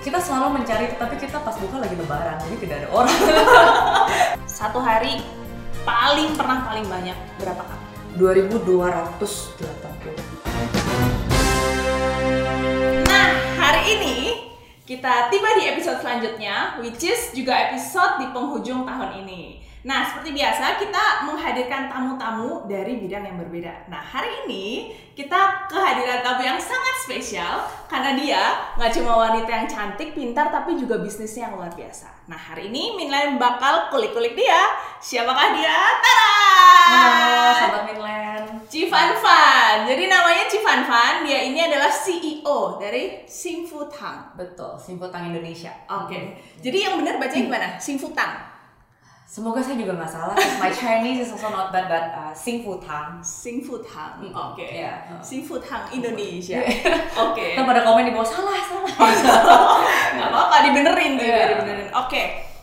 kita selalu mencari, tapi kita pas buka lagi lebaran, jadi tidak ada orang. Satu hari paling banyak berapa kali? 2.280. Nah, hari ini kita tiba di episode selanjutnya, which is juga episode di penghujung tahun ini. Nah, seperti biasa kita menghadirkan tamu-tamu dari bidang yang berbeda. Nah, hari ini kita kehadiran tamu yang sangat spesial karena dia nggak cuma wanita yang cantik, pintar, tapi juga bisnisnya yang luar biasa. Nah, hari ini Minland bakal kulik-kulik dia. Siapakah dia? Tada! Halo, sahabat Minland. Ci Fan Fan. Jadi namanya Ci Fan Fan. Dia ini adalah CEO dari Xingfu Tang. Betul, Xingfu Tang Indonesia. Oke. Jadi yang benar bacanya gimana? Xingfu Tang. Semoga saya juga nggak salah. My Chinese is also not bad, but Xingfu Tang. Xingfu Tang. Oke. Yeah. Xingfu Tang Indonesia. Oke. Kita pada komen di bawah salah. Nggak apa-apa, dibenerin juga, dibenerin. Oke.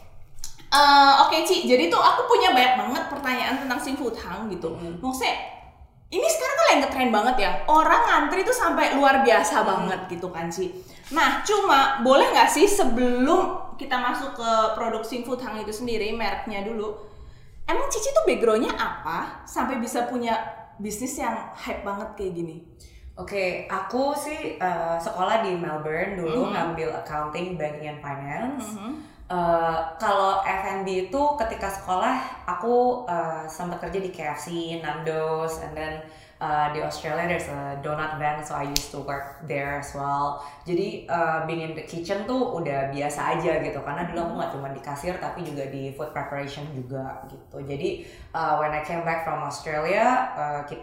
Oke, Ci. Jadi tuh aku punya banyak banget pertanyaan tentang Xingfu Tang gitu. Maksudnya ini sekarang kan lagi ngetren banget ya. Orang ngantri tuh sampai luar biasa banget gitu kan, Ci. Nah, cuma boleh nggak sih sebelum kita masuk ke produk Xingfu Tang itu sendiri, mereknya dulu, emang Cici tuh backgroundnya apa sampai bisa punya bisnis yang hype banget kayak gini? Oke, aku sih sekolah di Melbourne dulu, ngambil accounting, banking and finance. Kalau F&B itu ketika sekolah aku sempat kerja di KFC, Nando's, and then di Australia there's a donut van, so I used to work there as well. Jadi being in the kitchen tuh udah biasa aja gitu, karena dulu aku nggak cuma di kasir tapi juga di food preparation juga gitu. Jadi when I came back from Australia,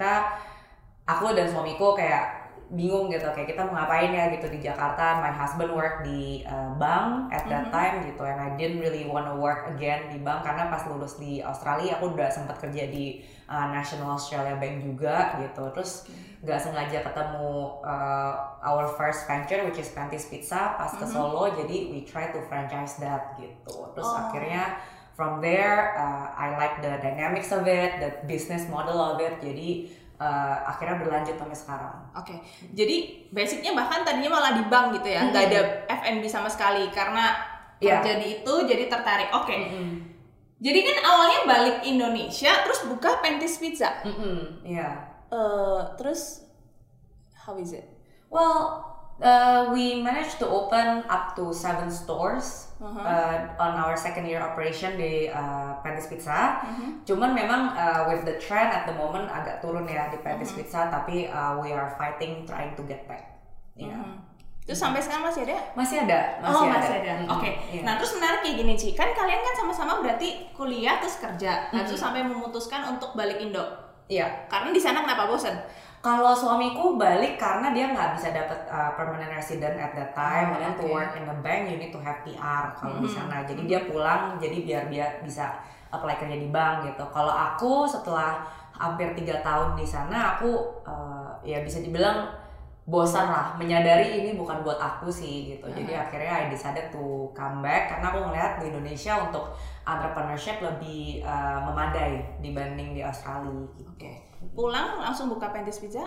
aku dan suamiku kayak bingung gitu, kayak kita mau ngapain ya gitu di Jakarta. My husband work di bank at that time gitu, and I didn't really wanna work again di bank karena pas lulus di Australia aku udah sempat kerja di National Australia Bank juga gitu. Terus nggak sengaja ketemu our first venture which is Pantis Pizza pas ke Solo, jadi we try to franchise that gitu. Terus akhirnya from there I like the dynamics of it, the business model of it, jadi akhirnya berlanjut sampai sekarang. Oke. Jadi basicnya bahkan tadinya malah di bank gitu ya, nggak ada F&B sama sekali karena kerja di itu jadi tertarik. Oke. Jadi kan awalnya balik Indonesia terus buka Pantis Pizza. Terus how is it? Well, we managed to open up to 7 stores on our second year operation di Pantis Pizza. Cuman memang with the trend at the moment agak turun ya di Pantis Pizza, tapi we are fighting trying to get back. Terus sampai sekarang masih ada? Masih ada. Oke. Nah, terus menarik kayak gini, Ci. Kan kalian kan sama-sama berarti kuliah terus kerja. Terus sampai memutuskan untuk balik Indo. Iya. Karena di sana kenapa bosen? Kalau suamiku balik karena dia nggak bisa dapat permanent resident at that time, and then to work in the bank you need to have PR kalau di sana. Jadi dia pulang, jadi biar dia bisa apply kerja di bank gitu. Kalau aku setelah hampir 3 tahun di sana, aku ya bisa dibilang bosan lah, menyadari ini bukan buat aku sih gitu. Jadi akhirnya I decided to come back karena aku ngeliat di Indonesia untuk entrepreneurship lebih memadai dibanding di Australia gitu. Pulang langsung buka Pantis Pizza?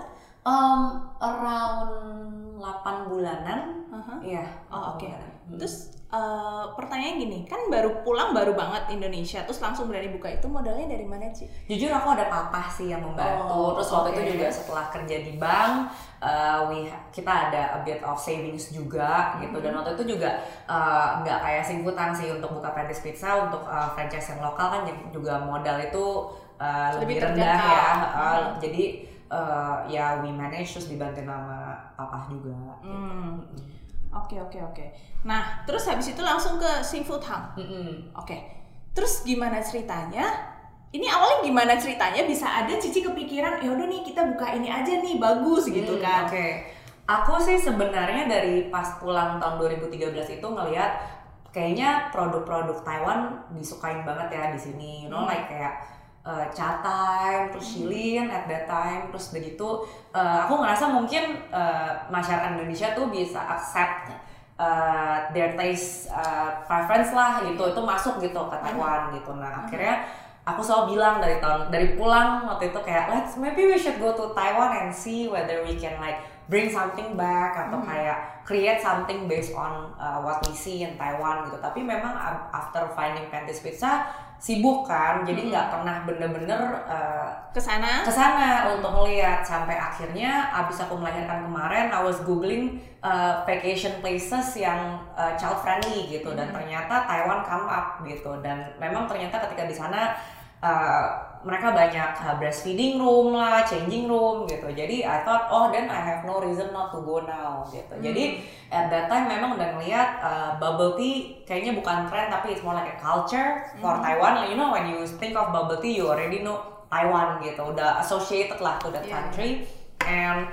Around 8 bulanan. Iya. Terus pertanyaan gini, kan baru pulang baru banget Indonesia, terus langsung berani buka, itu modalnya dari mana, Ci? Jujur aku ada papa sih yang membantu. Terus waktu itu juga setelah kerja di bank, kita ada a bit of savings juga gitu. Dan waktu itu juga nggak kayak Xingfu Tang sih untuk buka Pantis Pizza, untuk franchise yang lokal kan juga modal itu lebih rendah ya. Jadi ya we manage, terus dibantu sama papa juga gitu. Oke. Nah, terus habis itu langsung ke Xingfu Tang. Terus gimana ceritanya? Ini awalnya gimana ceritanya bisa ada Cici kepikiran, ya udah nih kita buka ini aja nih, bagus gitu kan? Aku sih sebenarnya dari pas pulang tahun 2013 itu ngelihat kayaknya produk-produk Taiwan disukain banget ya di sini. You know, like kayak Cha Time, terus Shilin at that time, terus begitu aku ngerasa mungkin masyarakat Indonesia tuh bisa accept their taste preference lah gitu, itu masuk gitu ke Taiwan gitu. Nah akhirnya aku selalu bilang dari pulang waktu itu kayak maybe we should go to Taiwan and see whether we can like bring something back atau kayak create something based on what we see in Taiwan gitu. Tapi memang after finding Panties Pizza sibuk kan, jadi nggak pernah bener-bener kesana untuk melihat sampai akhirnya abis aku melahirkan kemarin, I was googling vacation places yang child friendly gitu, dan ternyata Taiwan come up gitu, dan memang ternyata ketika di sana mereka banyak breastfeeding room lah, changing room gitu. Jadi I thought, then I have no reason not to go now gitu. Jadi at that time memang udah ngeliat bubble tea kayaknya bukan trend, tapi it's more like a culture for Taiwan. You know, when you think of bubble tea, you already know Taiwan gitu. Udah associated lah to that country. And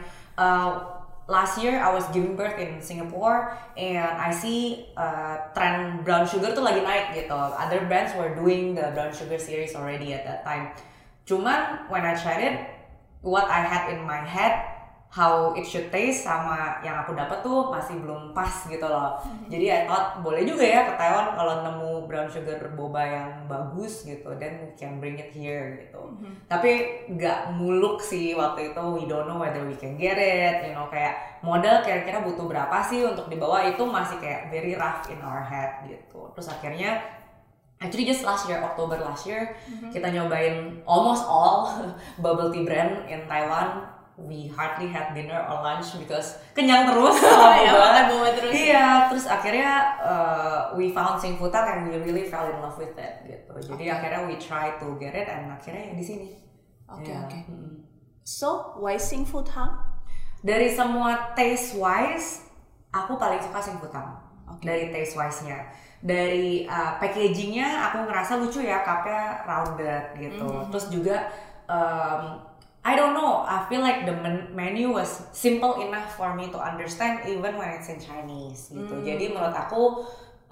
last year I was giving birth in Singapore and I see trend brown sugar tuh lagi naik gitu. Other brands were doing the brown sugar series already at that time. Cuman when I tried it, what I had in my head, how it should taste sama yang aku dapat tuh masih belum pas gitu loh. Jadi I thought boleh juga ya ke Taiwan kalau nemu brown sugar boba yang bagus gitu, then we can bring it here gitu. Tapi nggak muluk sih waktu itu, we don't know whether we can get it, you know, kayak modal kira-kira butuh berapa sih untuk dibawa, itu masih kayak very rough in our head gitu. Terus akhirnya actually just October last year, kita nyobain almost all bubble tea brand in Taiwan. We hardly had dinner or lunch because kenyang terus sama boba terus. Iya, terus akhirnya we found Sing Futang and we really fell in love with it gitu. Jadi akhirnya we try to get it and akhirnya di sini. Oke. So why Sing Futang? Dari semua taste wise, aku paling suka Sing Futang. Dari taste wise-nya. Dari packagingnya aku ngerasa lucu ya, cupnya rounded gitu. Terus juga I don't know, I feel like the menu was simple enough for me to understand even when it's in Chinese gitu. Jadi menurut aku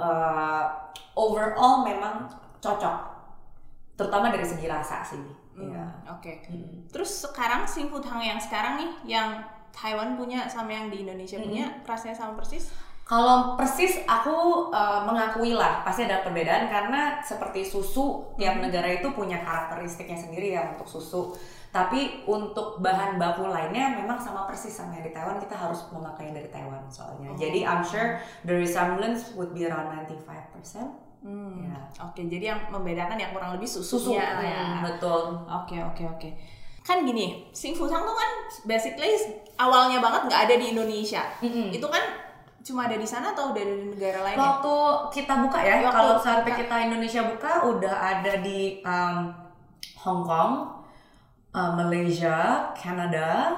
overall memang cocok, terutama dari segi rasa sih. Terus sekarang Sing Futang yang sekarang nih, yang Taiwan punya sama yang di Indonesia punya, rasanya sama persis? Kalau persis aku mengakui lah pasti ada perbedaan, karena seperti susu tiap negara itu punya karakteristiknya sendiri ya untuk susu. Tapi untuk bahan baku lainnya memang sama persis sama yang di Taiwan, kita harus memakai yang dari Taiwan soalnya. Jadi I'm sure the resemblance would be around 95%. Jadi yang membedakan yang kurang lebih susunya ya. Betul. Oke. Kan gini, Sing Futang tuh kan basically awalnya banget nggak ada di Indonesia. Itu kan cuma ada di sana atau udah ada di negara lain? Waktu kita buka ya, kalau sampai kita Indonesia buka udah ada di Hong Kong, Malaysia, Canada,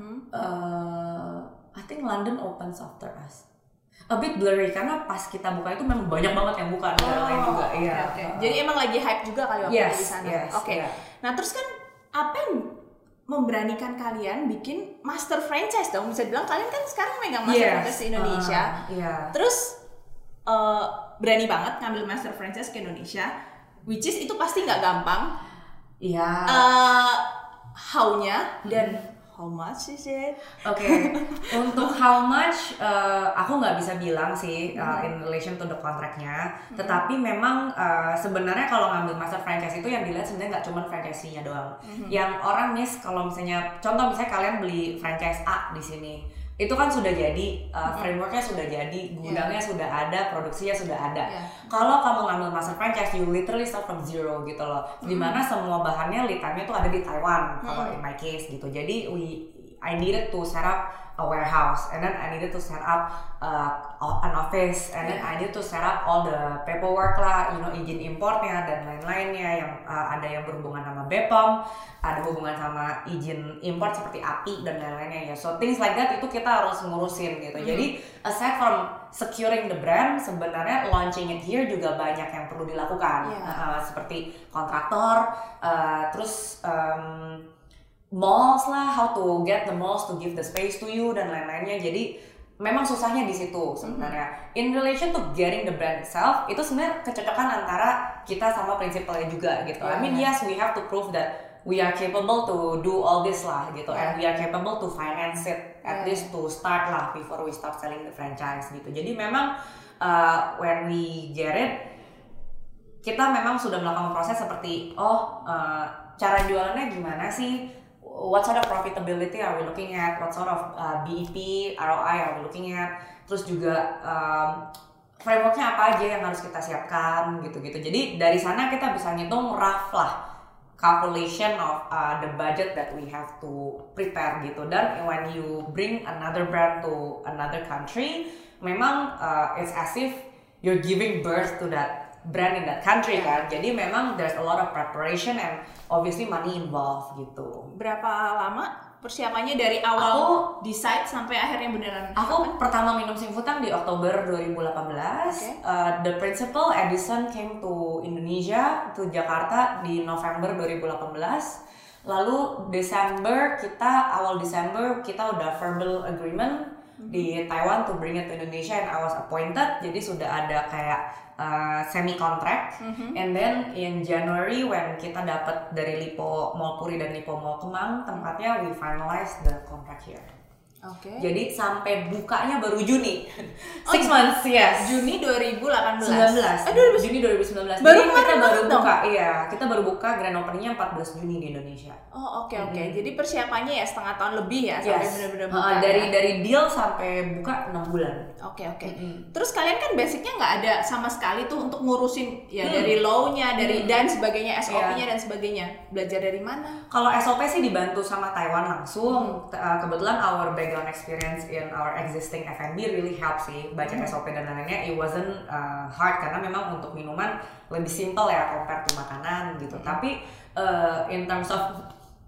I think London opens after us. A bit blurry karena pas kita buka itu memang banyak banget yang buka, negara lain juga. Jadi emang lagi hype juga kali waktu di sana. Nah terus kan apa yang memberanikan kalian bikin master franchise dong? Bisa bilang kalian kan sekarang megang master franchise di Indonesia. Terus berani banget ngambil master franchise ke Indonesia, which is itu pasti nggak gampang. How-nya dan how much is it? Untuk how much aku nggak bisa bilang sih in relation to the contract-nya. Tetapi memang sebenarnya kalau ngambil master franchise itu yang dilihat sebenarnya nggak cuma franchise-nya doang. Yang orang miss kalau misalnya contoh misalnya kalian beli franchise A di sini, itu kan sudah jadi frameworknya sudah jadi, gudangnya sudah ada, produksinya sudah ada. Kalau kamu ngambil master franchise, you literally start from zero gitu loh. Dimana semua bahannya lead time-nya tuh ada di Taiwan kalau in my case gitu. Jadi I needed to set up a warehouse, and then I needed to set up an office, and then I needed to set up all the paperwork lah, you know, izin importnya dan lain-lainnya yang ada yang berhubungan sama BPOM, ada hubungan sama izin import seperti API dan lain-lainnya ya. So things like that itu kita harus ngurusin gitu. Jadi aside from securing the brand, sebenarnya launching it here juga banyak yang perlu dilakukan, seperti kontraktor, terus malls lah, how to get the malls to give the space to you dan lain-lainnya. Jadi memang susahnya di situ sebenarnya. In relation to getting the brand itself, itu sebenarnya kecocokan antara kita sama prinsipalnya juga gitu. I mean yes, we have to prove that we are capable to do all this lah gitu, and we are capable to finance it at least to start lah before we start selling the franchise gitu. Jadi memang when we get it, kita memang sudah melakukan proses seperti cara jualannya gimana sih. what sort of profitability are we looking at, what sort of BEP, ROI are we looking at, terus juga frameworknya apa aja yang harus kita siapkan gitu-gitu. Jadi dari sana kita bisa ngitung rough lah calculation of the budget that we have to prepare gitu. Dan when you bring another brand to another country, memang it's as if you're giving birth to that brand in that country kan. Jadi memang there's a lot of preparation and obviously money involved gitu. Berapa lama persiapannya dari awal decide sampai akhirnya beneran? Aku pertama minum Simfutang di Oktober 2018. The principal Edison came to Indonesia, to Jakarta di November 2018. Lalu awal Desember kita udah verbal agreement di Taiwan to bring it to Indonesia, and I was appointed. Jadi sudah ada kayak semi contract. And then in January when kita dapat dari Lipo Mall Puri dan Lipo Mall Kemang tempatnya, we finalize the contract here. Jadi sampai bukanya baru Juni. 6 months, yes. Juni 2018. Juni 2019. Baru Jadi kita baru dong. buka, kita baru buka grand openingnya 14 Juni di Indonesia. Oke. Jadi persiapannya ya setengah tahun lebih ya sampai benar-benar buka. Dari deal sampai buka 6 bulan. Oke. Terus kalian kan basicnya nggak ada sama sekali tuh untuk ngurusin ya dari law-nya, dari dan sebagainya, SOP-nya dan sebagainya. Belajar dari mana? Kalau SOP sih dibantu sama Taiwan langsung. Kebetulan our background experience in our existing F&B really helps sih. Baca SOP dan lain-lainnya, it wasn't hard karena memang untuk minuman lebih simple ya compare to makanan gitu. Tapi in terms of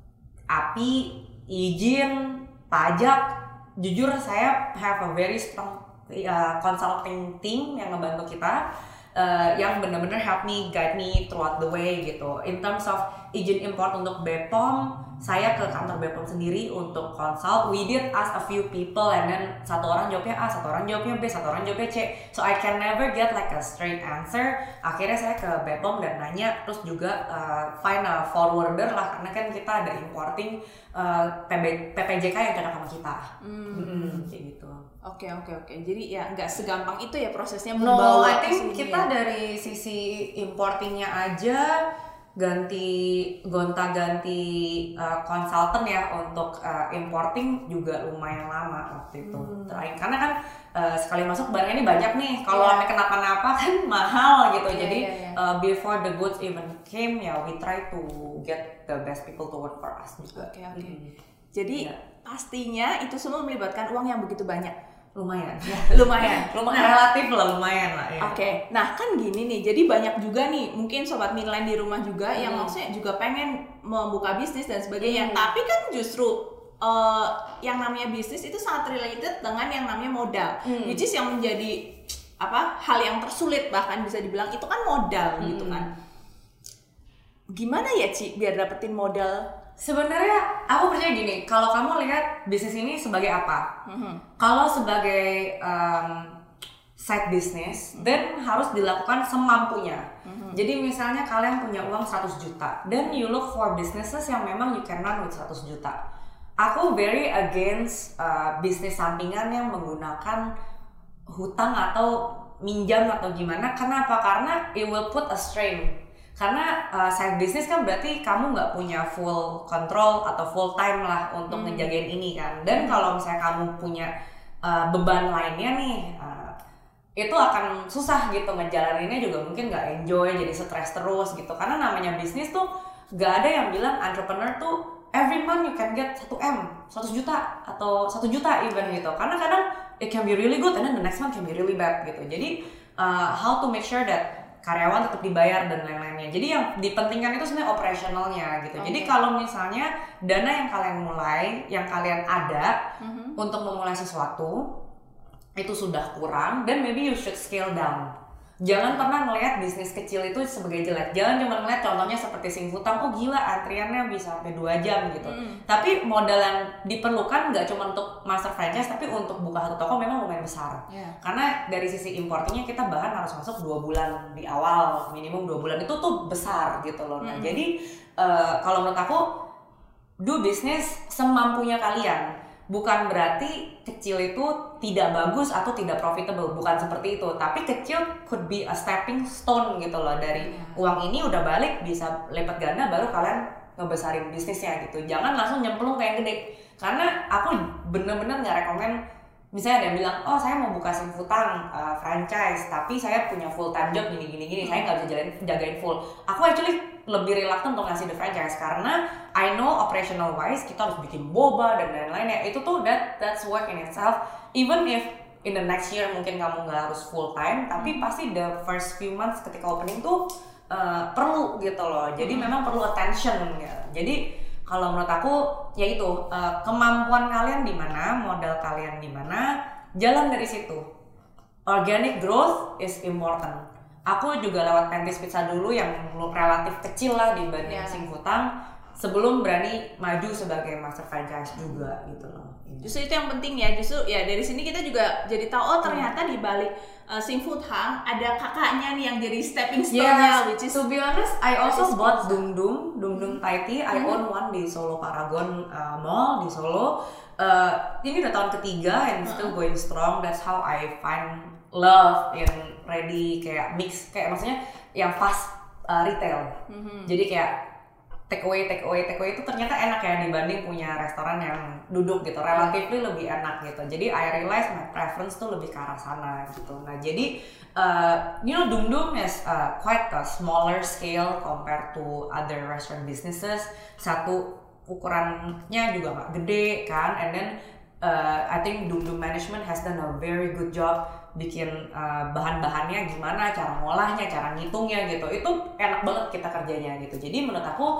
API, izin, pajak, jujur saya have a very strong consulting team yang ngebantu kita, yang benar-benar help me, guide me throughout the way gitu. In terms of izin import untuk BPOM, saya ke kantor BPOM sendiri untuk consult. We did ask a few people and then satu orang jawabnya A, satu orang jawabnya B, satu orang jawabnya C. So I can never get like a straight answer. Akhirnya saya ke BPOM dan nanya, terus juga find a forwarder lah, karena kan kita ada importing PPJK yang cocok sama kita. Kayak gitu. Oke. Jadi ya nggak segampang itu ya prosesnya membawa. No, I think kita dari sisi importingnya aja gonta-ganti konsultan ya untuk importing juga lumayan lama waktu itu. Karena kan sekali masuk barangnya ini banyak nih. Kalau sampai kenapa-napa kan mahal gitu. Jadi before the goods even came we try to get the best people to work for us juga. Oke. Jadi pastinya itu semua melibatkan uang yang begitu banyak. Lumayan Relatif lah, lumayan lah ya. Oke. Nah kan gini nih, jadi banyak juga nih mungkin sobat Midline di rumah juga yang maksudnya juga pengen membuka bisnis dan sebagainya. Tapi kan justru yang namanya bisnis itu sangat related dengan yang namanya modal, which is yang menjadi hal yang tersulit, bahkan bisa dibilang itu kan modal gitu kan. Gimana ya Ci biar dapetin modal? Sebenarnya aku percaya gini, kalau kamu lihat bisnis ini sebagai apa? Kalau sebagai side business, then harus dilakukan semampunya. Jadi misalnya kalian punya uang 100 juta, then you look for businesses yang memang you can run with 100 juta. Aku very against bisnis sampingan yang menggunakan hutang atau minjam atau gimana. Kenapa? Karena it will put a strain. Karena side business kan berarti kamu nggak punya full control atau full time lah untuk ngejagain ini kan. Dan kalau misalnya kamu punya beban lainnya nih, itu akan susah gitu ngejalaninnya, juga mungkin nggak enjoy, jadi stres terus gitu. Karena namanya bisnis tuh nggak ada yang bilang entrepreneur tuh every month you can get 1M, 100 juta atau 1 juta even gitu. Karena kadang it can be really good and then the next month can be really bad gitu. Jadi how to make sure that karyawan tetap dibayar dan lain-lainnya. Jadi yang dipentingkan itu sebenarnya operasionalnya gitu. Jadi kalau misalnya dana yang kalian mulai, yang kalian ada untuk memulai sesuatu itu sudah kurang, then maybe you should scale down. Jangan pernah ngelihat bisnis kecil itu sebagai jelek. Jangan cuma ngelihat contohnya seperti Simfutang, oh gila antriannya bisa sampai 2 jam gitu. Tapi modal yang diperlukan nggak cuma untuk master franchise, tapi untuk buka satu toko memang lumayan besar. Karena dari sisi importingnya kita bahkan harus masuk 2 bulan di awal, minimum 2 bulan itu tuh besar gitu loh. Nah jadi kalau menurut aku do bisnis semampunya kalian. Bukan berarti kecil itu tidak bagus atau tidak profitable, bukan seperti itu. Tapi kecil could be a stepping stone gitu loh. Dari uang ini udah balik bisa lipat ganda, baru kalian ngebesarin bisnisnya gitu. Jangan langsung nyemplung ke yang gede. Karena aku bener-bener nggak rekomen. Misalnya ada yang bilang, oh saya mau buka Simfutang franchise, tapi saya punya full time job gini, saya nggak bisa jagain full. Aku actually lebih reluctant untuk ngasih the franchise karena I know operational wise kita harus bikin boba dan lain-lain ya. Itu tuh that's work in itself. Even if in the next year mungkin kamu nggak harus full time, tapi pasti the first few months ketika opening tuh perlu gitu loh. Jadi memang perlu attention ya. Jadi kalau menurut aku ya itu kemampuan kalian di mana, modal kalian di mana, jalan dari situ. Organic growth is important. Aku juga lewat Panties Pizza dulu yang relatif kecil lah dibanding Simfutang sebelum berani maju sebagai master franchise juga gitu loh. Justru itu yang penting ya. Justru ya dari sini kita juga jadi tahu oh ternyata di balik Simfutang ada kakaknya nih yang jadi stepping stone-nya, which is to be honest, I also bought Dum Dum Thai Tea. I own one di Solo Paragon Mall di Solo. Ini udah tahun ketiga and still going strong. That's how I find love in ready kayak mix kayak maksudnya yang fast retail. Jadi kayak take away itu ternyata enak ya dibanding punya restoran yang duduk gitu, relatively lebih enak gitu. Jadi I realize my preference tuh lebih ke arah sana gitu. Nah jadi Dum Dum is quite a smaller scale compared to other restaurant businesses. Satu ukurannya juga nggak gede kan, and then I think Dum Dum management has done a very good job bikin bahan-bahannya gimana, cara ngolahnya, cara ngitungnya gitu. Itu enak banget kita kerjanya gitu. Jadi menurut aku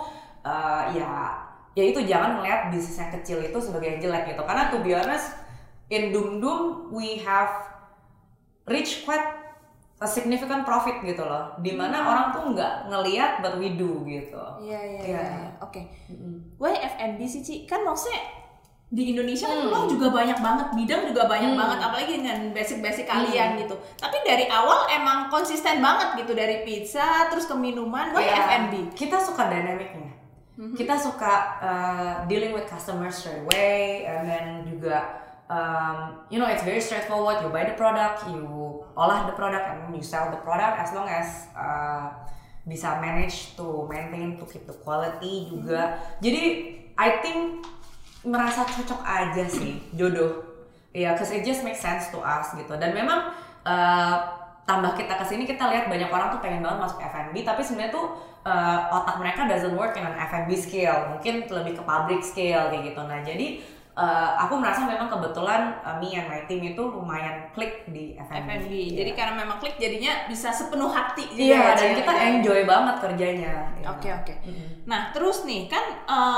ya itu jangan melihat bisnis yang kecil itu sebagai yang jelek gitu. Karena to be honest, in Dum Dum we have reached quite a significant profit gitu loh. Dimana orang tuh nggak ngelihat but we do gitu. Iya. Oke. Why F&B sih Ci? Kan maksudnya di Indonesia kan peluang juga banyak banget, bidang juga banyak banget, apalagi dengan basic kalian gitu. Tapi dari awal emang konsisten banget gitu, dari pizza terus ke minuman, F&B. Kita suka dynamicnya, kita suka dealing with customers straight away, and then juga it's very straightforward. You buy the product, you olah the product, and then you sell the product as long as bisa manage to maintain to keep the quality juga. Jadi I think merasa cocok aja sih, jodoh. Ya, cause it just makes sense to us gitu. Dan memang tambah kita kesini kita lihat banyak orang tuh pengen banget masuk F&B, tapi sebenarnya tuh otak mereka doesn't work in an F&B scale, mungkin lebih ke public scale kayak gitu. Nah jadi aku merasa memang kebetulan me and my team itu lumayan klik di F&B. Jadi karena memang klik jadinya bisa sepenuh hati juga. Iya, dan kita enjoy banget kerjanya. Oke. Nah terus nih kan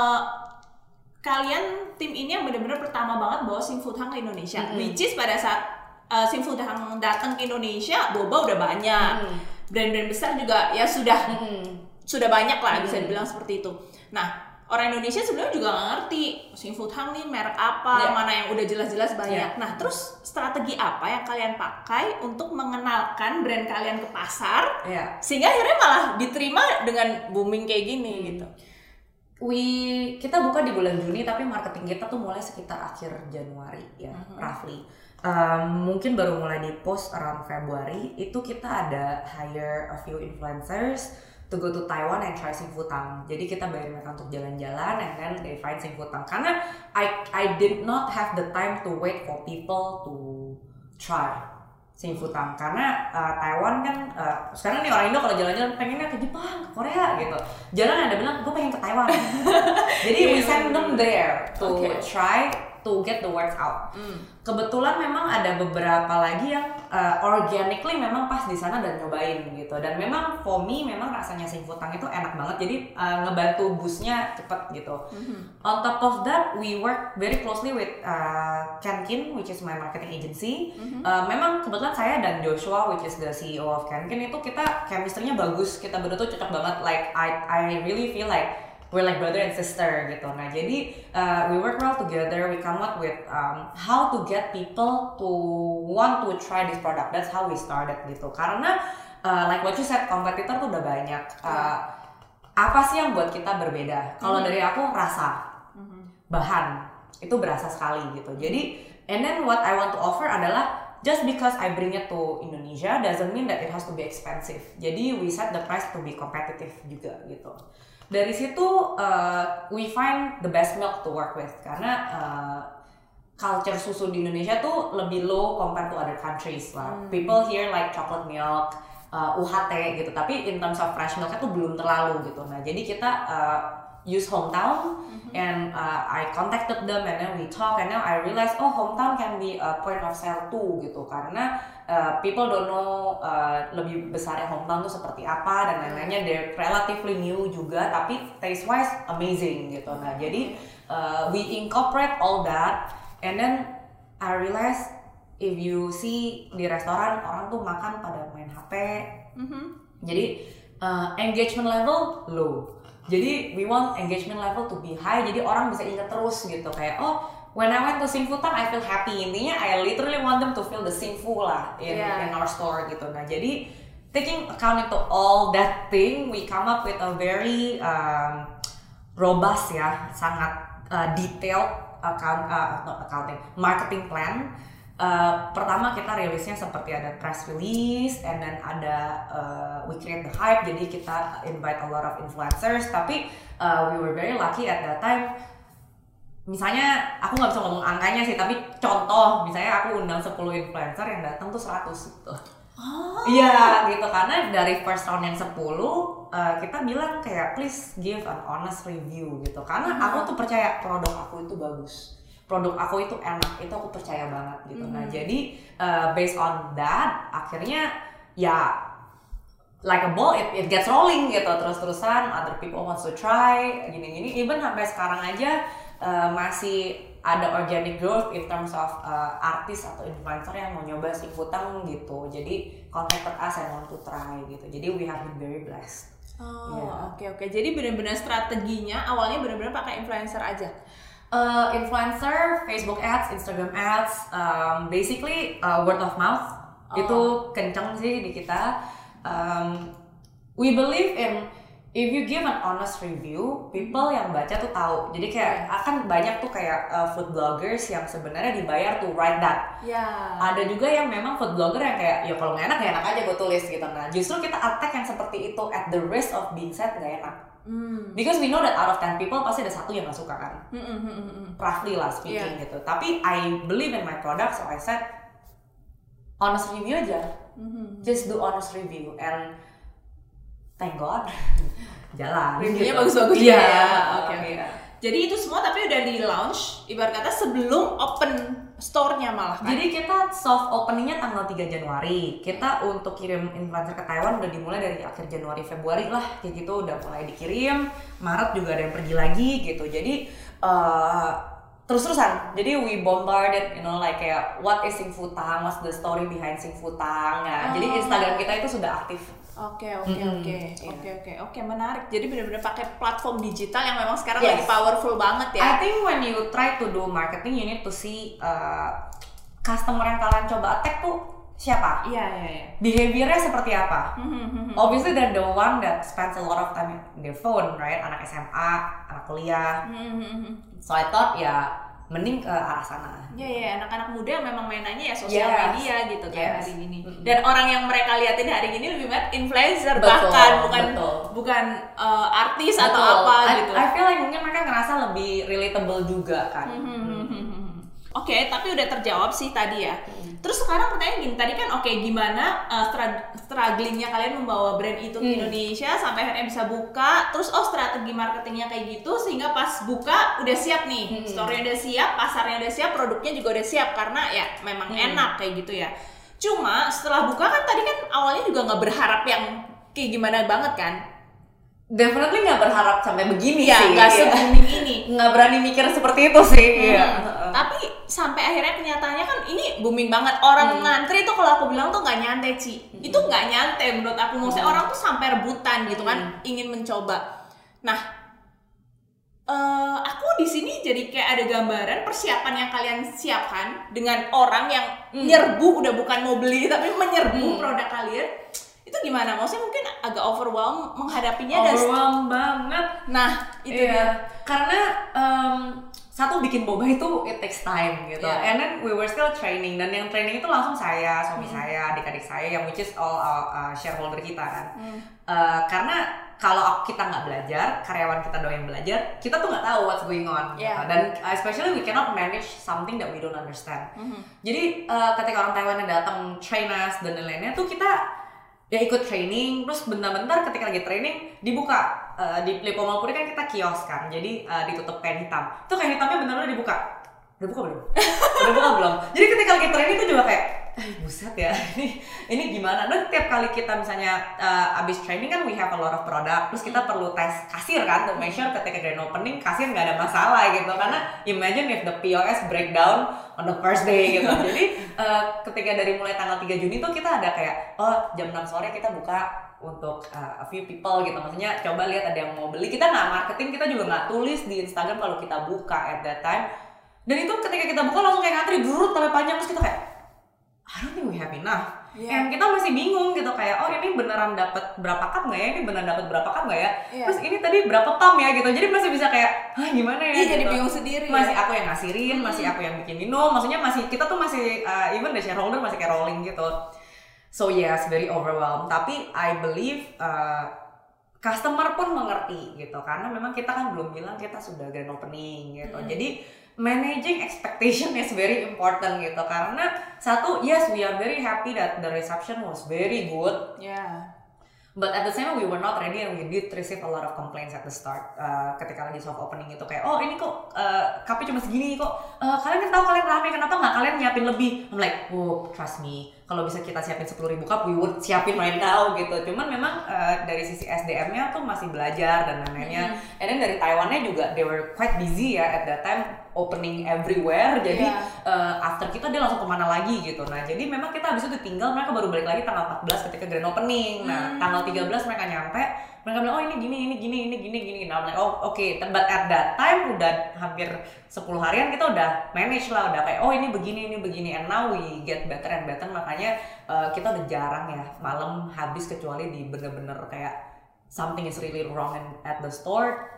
kalian tim ini yang benar-benar pertama banget bawa Simfutang ke Indonesia, which is pada saat Simfutang datang ke Indonesia, boba udah banyak, brand-brand besar juga ya sudah banyak lah bisa dibilang seperti itu. Nah orang Indonesia sebenarnya juga nggak ngerti Simfutang nih merek apa, mana yang udah jelas-jelas banyak. Nah terus strategi apa yang kalian pakai untuk mengenalkan brand kalian ke pasar, sehingga akhirnya malah diterima dengan booming kayak gini gitu? Kita buka di bulan Juni, tapi marketing kita tuh mulai sekitar akhir Januari ya, roughly. Mungkin baru mulai di post around Februari. Itu kita ada hire a few influencers to go to Taiwan and try Simfutang. Jadi kita bayar mereka untuk jalan-jalan and then they find Simfutang. Karena I did not have the time to wait for people to try Simfutang, karena Taiwan kan sekarang nih orang Indo kalau jalan-jalan pengennya ke Jepang, ke Korea gitu. Jarang ada bilang gue pengen ke Taiwan. Jadi we send them there to try to get the words out. Kebetulan memang ada beberapa lagi yang organically memang pas di sana dan nyobain gitu. Dan memang for me memang rasanya Simfutang itu enak banget. Jadi ngebantu boostnya cepet gitu. On top of that, we work very closely with Kenkin, which is my marketing agency. Memang kebetulan saya dan Joshua, which is the CEO of Kenkin, itu kita chemistry-nya bagus. Kita berdua tuh cocok banget. Like I really feel like we're like brother and sister gitu. Nah jadi we work well together. We come up with how to get people to want to try this product. That's how we started gitu. Karena like what you said, kompetitor tuh udah banyak. Apa sih yang buat kita berbeda? Kalau dari aku rasa, bahan itu berasa sekali gitu. Jadi and then what I want to offer adalah just because I bring it to Indonesia doesn't mean that it has to be expensive. Jadi we set the price to be competitive juga gitu. Dari situ we find the best milk to work with karena culture susu di Indonesia tuh lebih low compared to other countries lah. People here like chocolate milk, UHT gitu, tapi in terms of fresh milk tuh belum terlalu gitu. Nah jadi kita use Hometown and I contacted them and then we talk and now I realized Hometown can be a point of sale too gitu karena people don't know lebih besarnya Hometown tuh seperti apa dan lain-lainnya. They're relatively new juga tapi taste wise amazing gitu. Nah jadi we incorporate all that and then I realized if you see di restoran orang tuh makan pada main HP, jadi engagement level low. Jadi we want engagement level to be high, jadi orang bisa ingat terus gitu kayak when I went to Sing Futang I feel happy. Intinya I literally want them to feel the Sing Fu lah in our store gitu. Nah jadi taking account into all that thing, we come up with a very robust ya, sangat detailed marketing plan. Pertama kita rilisnya seperti ada press release and then ada we create the hype, jadi kita invite a lot of influencers tapi we were very lucky at that time. Misalnya aku nggak bisa ngomong angkanya sih tapi contoh misalnya aku undang 10 influencer yang datang tuh 100 gitu. Iya gitu karena dari first round yang 10 kita bilang kayak please give an honest review gitu karena aku tuh percaya produk aku itu bagus. Produk aku itu enak, itu aku percaya banget gitu. Nah jadi based on that akhirnya ya like a ball it gets rolling gitu terus-terusan. Other people wants to try gini-gini. Even sampai sekarang aja masih ada organic growth in terms of artis atau influencer yang mau nyoba Sing Futang gitu. Jadi contacted us and want to try gitu. Jadi we have been very blessed. Oke. Jadi benar-benar strateginya awalnya benar-benar pakai influencer aja. Influencer, Facebook ads, Instagram ads, basically word of mouth itu kenceng sih di kita. We believe in if you give an honest review, people yang baca tuh tahu. Jadi kayak akan banyak tuh kayak food bloggers yang sebenarnya dibayar to write that. Ada juga yang memang food blogger yang kayak ya kalau nggak enak ya enak aja gue tulis gitu. Nah justru kita attack yang seperti itu at the risk of being said nggak enak. Because we know that out of 10 people pasti ada satu yang gak suka kan, roughly lah speaking gitu. Tapi I believe in my product, so I said honest review aja, just do honest review and thank God jalan. Reviewnya gitu. bagus-bagus ya. Oke. Jadi itu semua tapi udah di launch, ibarat kata sebelum open store-nya malah kan? Jadi kita soft openingnya tanggal 3 Januari. Kita untuk kirim influencer ke Taiwan udah dimulai dari akhir Januari Februari lah kayak gitu udah mulai dikirim. Maret juga ada yang pergi lagi gitu. Jadi terus-terusan. Jadi we bombarded like kayak what is Sing Futang, what's the story behind Sing Futang. Nah, jadi Instagram kita itu sudah aktif. Oke, menarik. Jadi benar-benar pakai platform digital yang memang sekarang lagi powerful banget ya. I think when you try to do marketing, you need to see customer yang kalian coba attack tuh siapa? Iya. Behaviornya seperti apa? Obviously they're the one that spends a lot of time in their phone, right? Anak SMA, anak kuliah. So I thought mending ke arah sana. Iya, anak-anak muda memang mainannya ya sosial media gitu kan hari ini. Mm-hmm. Dan orang yang mereka liatin hari ini lebih banyak influencer bukan artis atau apa gitu. I feel like mungkin mereka ngerasa lebih relatable juga kan. Oke, tapi udah terjawab sih tadi ya. Terus sekarang pertanyaan gini, tadi kan gimana strugglingnya kalian membawa brand itu ke Indonesia sampai akhirnya bisa buka. Terus strategi marketingnya kayak gitu sehingga pas buka udah siap nih, store-nya udah siap, pasarnya udah siap, produknya juga udah siap karena ya memang enak kayak gitu ya. Cuma setelah buka kan tadi kan awalnya juga nggak berharap yang kayak gimana banget kan? Definitely nggak berharap sampai begini sih. Nggak se-booming ini. Nggak berani mikir seperti itu sih. Tapi sampai akhirnya kenyataannya kan ini booming banget. Orang ngantri tuh kalau aku bilang tuh nggak nyantai Ci. Itu nggak nyantai menurut aku. Maksudnya orang tuh sampai rebutan gitu kan, ingin mencoba. Nah, aku di sini jadi kayak ada gambaran persiapan yang kalian siapkan dengan orang yang nyerbu, udah bukan mau beli tapi menyerbu produk kalian. Itu gimana? Maksudnya mungkin agak overwhelm menghadapinya. Overwhelm banget. Nah, itu dia. Karena satu bikin boba itu it takes time gitu, and then we were still training, dan yang training itu langsung saya, suami saya, adik-adik saya, yang which is all shareholder kita kan. Karena kalau kita nggak belajar, karyawan kita doang yang belajar, kita tuh nggak tahu what's going on. Gitu. Dan especially we cannot manage something that we don't understand. Jadi ketika orang Taiwan yang datang train us dan lain-lainnya tuh kita ya ikut training, terus bentar-bentar ketika lagi training dibuka. Di Lippo Mall kan kita kios kan, jadi ditutup kain hitam. Itu kain hitamnya benar-benar dibuka. Udah buka belum? Udah buka belum? Jadi ketika lagi training itu juga kayak, buset ya, ini gimana? Dan tiap kali kita misalnya abis training kan we have a lot of product, terus kita perlu tes kasir kan, to make sure ketika grand opening kasir nggak ada masalah gitu. Karena imagine if the POS breakdown on the first day gitu. Jadi ketika dari mulai tanggal 3 Juni tuh kita ada kayak, jam 6 sore kita buka untuk a few people gitu, maksudnya coba lihat ada yang mau beli. Kita nggak marketing, kita juga nggak tulis di Instagram kalau kita buka at that time. Dan itu ketika kita buka langsung kayak ngantri durut sampai panjang, terus kita kayak I don't think we have enough. And kita masih bingung gitu kayak, ini beneran dapat berapa cup nggak ya? Ini beneran dapat berapa cup nggak ya? Terus ini tadi berapa pump ya gitu. Jadi masih bisa kayak, gimana ya? Iya, gitu. jadi bingung sendiri. Masih aku yang ngasirin, masih aku yang bikin minum. Maksudnya kita tuh masih even the shareholder masih kayak rolling gitu. So yes, very overwhelmed. Tapi I believe customer pun mengerti gitu, karena memang kita kan belum bilang kita sudah grand opening gitu. Jadi managing expectation is very important gitu, karena satu, yes we are very happy that the reception was very good. But at the same time we were not ready, and we did receive a lot of complaints at the start. Ketika lagi soft opening itu kayak, ini kok cupnya cuma segini kok. Kalian kan tahu kalian rame, kenapa nggak kalian nyiapin lebih? I'm like, trust me, kalau bisa kita siapin 10.000 cup, we would siapin right now gitu. Cuman memang dari sisi SDM-nya tuh masih belajar dan lain-lainnya. And then dari Taiwan-nya juga they were quite busy ya at that time, opening everywhere. Jadi after kita dia langsung kemana lagi gitu. Nah jadi memang kita habis itu tinggal, mereka baru balik lagi tanggal 14 ketika grand opening. Nah tanggal 13 mereka nyampe, mereka bilang ini gini. Nah I'm like okay. But at that time udah hampir 10 harian kita udah manage lah, udah kayak ini begini, and now we get better and better. Makanya kita udah jarang ya malam habis, kecuali di bener-bener kayak something is really wrong at the store.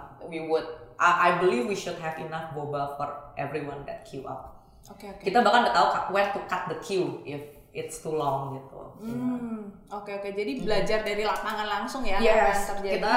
I believe we should have enough boba for everyone that queue up. Okay. Kita bahkan udah tahu when to cut the queue if it's too long gitu. Oke. Jadi belajar dari lapangan langsung ya, yes, apa yang terjadi. Kita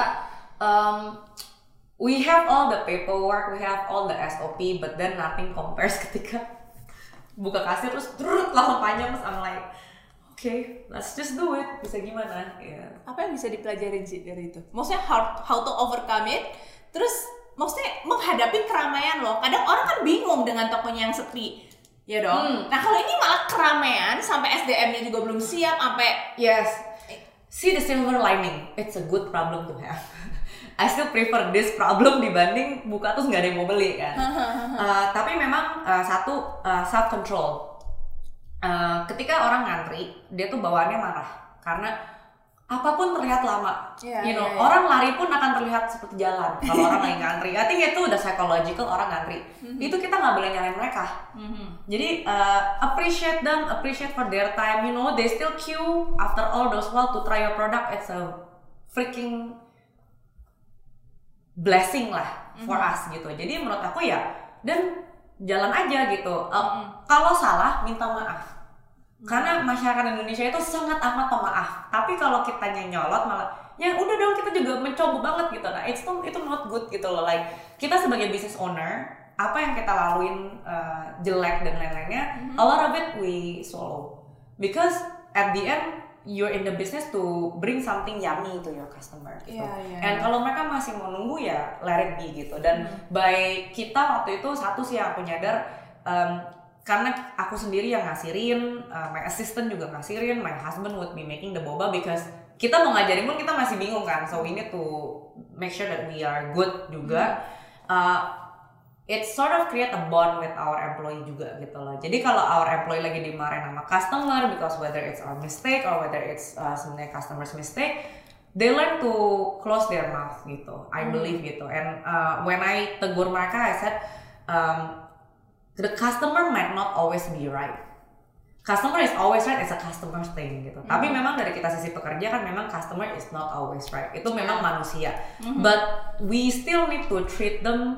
we have all the paperwork, we have all the SOP, but then nothing compares ketika buka kasir terus langsung panjang, terus I'm like, okay, let's just do it. Bisa gimana? Apa yang bisa dipelajarin sih dari itu? Maksudnya how to overcome it, terus maksudnya menghadapi keramaian loh. Kadang orang kan bingung dengan tokonya yang sepi, ya dong. Nah kalau ini malah keramaian sampai SDM-nya juga belum siap, sampai see the silver lining. It's a good problem to have. I still prefer this problem dibanding buka terus nggak ada yang mau beli kan. Tapi memang satu self control. Ketika orang ngantri, dia tuh bawaannya marah karena apapun terlihat lama, orang lari pun akan terlihat seperti jalan kalau orang lagi ngantri. I think itu udah psychological orang ngantri. Itu kita nggak boleh nyalain mereka. Jadi appreciate them, appreciate for their time. They still queue after all those while to try your product. It's a freaking blessing lah for us gitu. Jadi menurut aku dan jalan aja gitu. Kalau salah minta maaf. Karena masyarakat Indonesia itu sangat amat pemaaf. Tapi kalau kita nyolot malah, ya udah dong kita juga mencoba banget gitu. Nah itu not good gitu loh. Like kita sebagai business owner, apa yang kita laluin jelek dan lain-lainnya, a lot of it we swallow. Because at the end you're in the business to bring something yummy to your customer gitu. And kalau mereka masih mau nunggu ya let it be gitu. Dan by kita waktu itu satu sih yang aku nyadar, karena aku sendiri yang ngasirin, my assistant juga ngasirin, my husband would be making the boba because kita mau ngajarin pun kita masih bingung kan, so we need to make sure that we are good juga. It sort of create a bond with our employee juga gitu loh. Jadi kalau our employee lagi dimarahin sama customer because whether it's our mistake or whether it's sebenarnya customer's mistake, they learn to close their mouth gitu. I believe gitu. And when I tegur mereka, I said, the customer might not always be right. Customer is always right, it's a customer thing gitu. Tapi memang dari kita sisi pekerja kan memang customer is not always right. Itu memang manusia. But we still need to treat them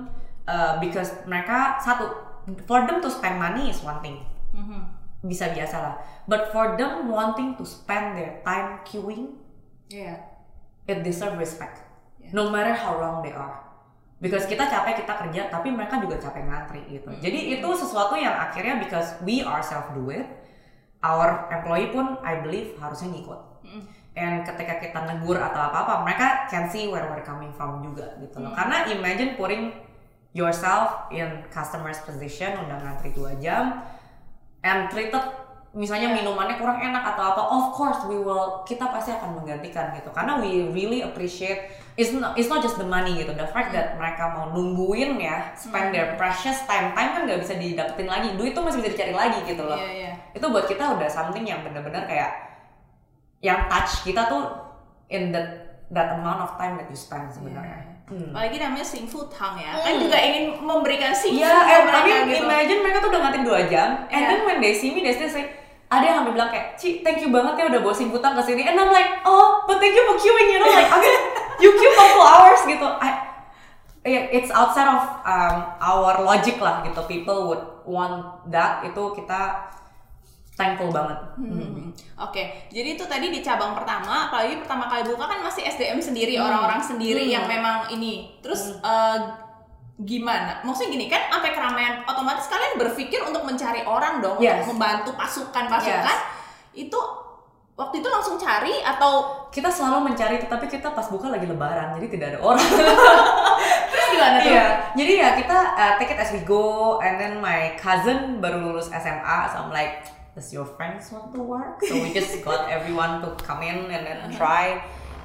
because mereka satu, for them to spend money is one thing, bisa biasa lah, but for them wanting to spend their time queuing, it deserve respect, no matter how long they are. Because kita capek, kita kerja, tapi mereka juga capek ngantri gitu. Jadi itu sesuatu yang akhirnya because we ourselves do it, our employee pun I believe harusnya ngikut. And ketika kita negur atau apa-apa, mereka can see where we're coming from juga gitu loh. Karena imagine putting yourself in customer's position, udah ngantri 2 jam, and treated misalnya minumannya kurang enak atau apa, of course kita pasti akan menggantikan gitu. Karena we really appreciate, it's not just the money gitu, the fact that mereka mau nungguin ya, spend their precious time kan nggak bisa didapetin lagi, duit tuh masih bisa dicari lagi gitu loh. Itu buat kita udah something yang benar-benar kayak yang touch kita tuh in that amount of time that you spend sebenarnya. Apalagi namanya Xing Fu Tang ya, kan juga ingin memberikan Xing Fu ke mereka gitu. Imagine mereka tuh udah ngantri 2 jam, and then when they see me, they still say, ada yang sampai bilang kayak, Ci, thank you banget ya udah bawa Xing Fu Tang kesini, and I'm like, oh, but thank you for queuing, you know, like, okay, you queue for 2 hours gitu. It's outside of our logic lah gitu, people would want that, itu kita thankful banget. Oke, jadi itu tadi di cabang pertama, apalagi pertama kali buka kan masih SDM sendiri, orang-orang sendiri yang memang ini. Terus gimana? Maksudnya gini kan, sampai keramaian, otomatis kalian berpikir untuk mencari orang dong, untuk membantu pasukan-pasukan. Itu waktu itu langsung cari atau kita selalu mencari, tetapi kita pas buka lagi lebaran, jadi tidak ada orang. Terus gimana tuh? Jadi ya kita take it as we go, and then my cousin baru lulus SMA, so I'm like, does your friends want to work? So we just got everyone to come in and then try.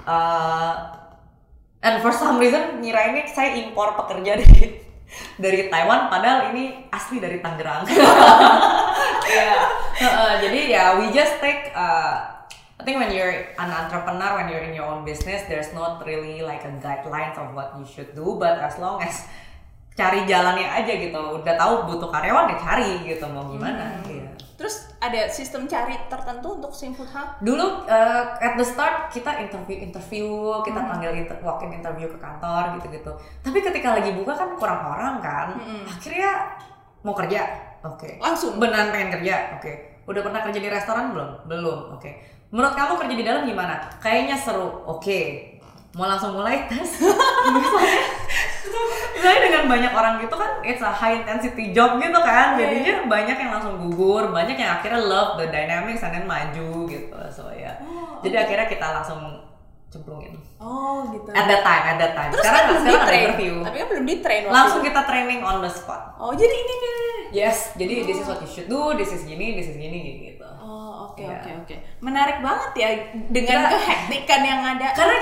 And for some reason ngirainnya saya impor pekerja dari Taiwan, padahal ini asli dari Tangerang. Jadi ya we just take. I think when you're an entrepreneur, when you're in your own business, there's not really like a guidelines of what you should do, but as long as cari jalannya aja gitu, udah tahu butuh karyawan ya cari gitu, mau gimana. Terus ada sistem cari tertentu untuk Xing Fu Tang? Dulu at the start kita interview, kita panggil walk-in interview ke kantor gitu-gitu. Tapi ketika lagi buka kan kurang orang kan, akhirnya mau kerja, oke. Langsung? Beneran pengen kerja, oke. Udah pernah kerja di restoran belum? Belum, oke. Menurut kamu kerja di dalam gimana? Kayaknya seru, oke. Mau langsung mulai tes? Misalnya dengan banyak orang gitu kan, it's a high intensity job gitu kan, jadinya banyak yang langsung gugur, banyak yang akhirnya love the dynamics and then maju gitu, so ya. Jadi akhirnya kita langsung cemplungin. Oh gitu. At that time. Terus sekarang kan ada interview. Tapi kan belum di train. Langsung kita training on the spot. Oh jadi ini nih. Yes, jadi this is what you should do, this is gini gitu. Oh oke. Menarik banget ya dengan kehektikan yang ada. Karena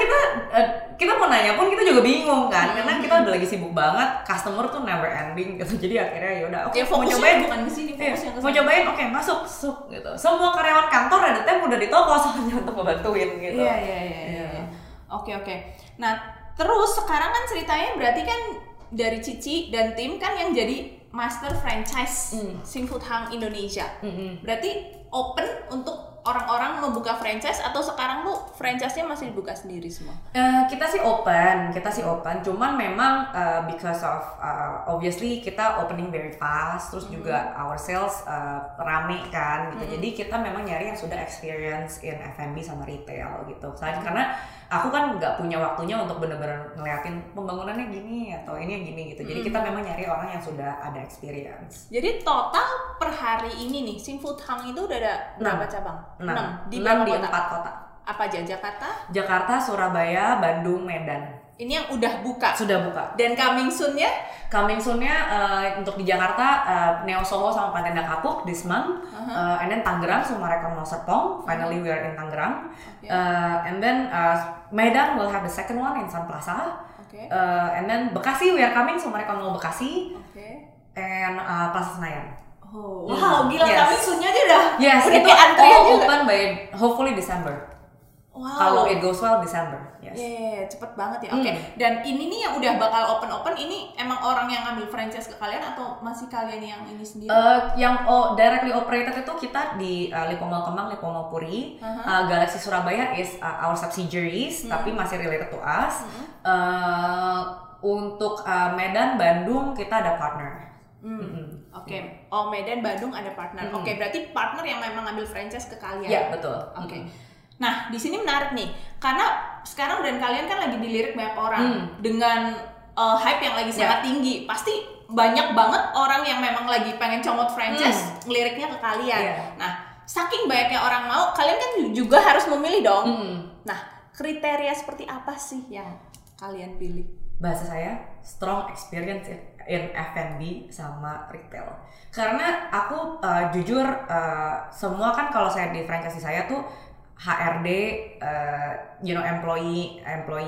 kita mau nanya pun kita juga bingung kan, karena kita udah lagi sibuk banget, customer tuh never ending gitu. Jadi akhirnya yaudah, oke, mau cobain bukan di sini, fokusnya mau cobain, oke, masuk gitu. Semua karyawan kantor ada time udah di toko soalnya untuk ngebantuin gitu. Iya. Oke. Nah, terus sekarang kan ceritanya berarti kan dari Cici dan tim kan yang jadi master franchise Xing Fu Tang Indonesia. Berarti open untuk orang-orang membuka franchise atau sekarang tuh franchise-nya masih dibuka sendiri semua? Kita sih open, cuman memang because of obviously kita opening very fast, terus juga our sales rame kan gitu. Jadi kita memang nyari yang sudah experience in F&B sama retail gitu. Karena aku kan nggak punya waktunya untuk bener-bener ngeliatin pembangunannya gini atau ini yang gini gitu. Jadi kita memang nyari orang yang sudah ada experience. Jadi total per hari ini nih Xing Fu Tang itu udah ada berapa cabang? 6 di 4 kota. Apa aja? Jakarta, Surabaya, Bandung, Medan. Ini yang udah buka? Sudah buka. Dan coming soon-nya? Coming soon-nya untuk di Jakarta, Neo Soho sama Panenda Kapuk this month. And then Tangerang, Sumarekon Mall Serpong. Finally we are in Tangerang. And then Medan will have the second one in Sun Plaza. And then Bekasi we are coming, Sumarekon Mall Bekasi. And Plaza Senayan. Oh, wow, gila, coming soon-nya aja udah. Yes, udah itu antrian juga. Open by hopefully December. Wow. Kalau it goes well December. Yes. Cepet banget ya. Oke. Dan ini nih yang udah bakal open ini emang orang yang ngambil franchise ke kalian atau masih kalian yang ini sendiri? Yang directly operated itu kita di Lipo Mall Kemang, Lipo Mall Puri. Galaxy Surabaya is our subsidiaries tapi masih related to us. Untuk Medan, Bandung kita ada partner. Oke. Oh, Medan, Bandung ada partner. Oke, berarti partner yang memang ambil franchise ke kalian. Iya, betul. Oke. Nah, di sini menarik nih, karena sekarang brand kalian kan lagi dilirik banyak orang dengan hype yang lagi sangat tinggi. Pasti banyak banget orang yang memang lagi pengen comot franchise ngeliriknya ke kalian. Nah, saking banyaknya orang mau, kalian kan juga harus memilih dong. Nah, kriteria seperti apa sih yang kalian pilih? Bahasa saya strong experience in F&B sama retail. Karena aku jujur semua kan kalau saya di franchise saya tuh HRD, employee,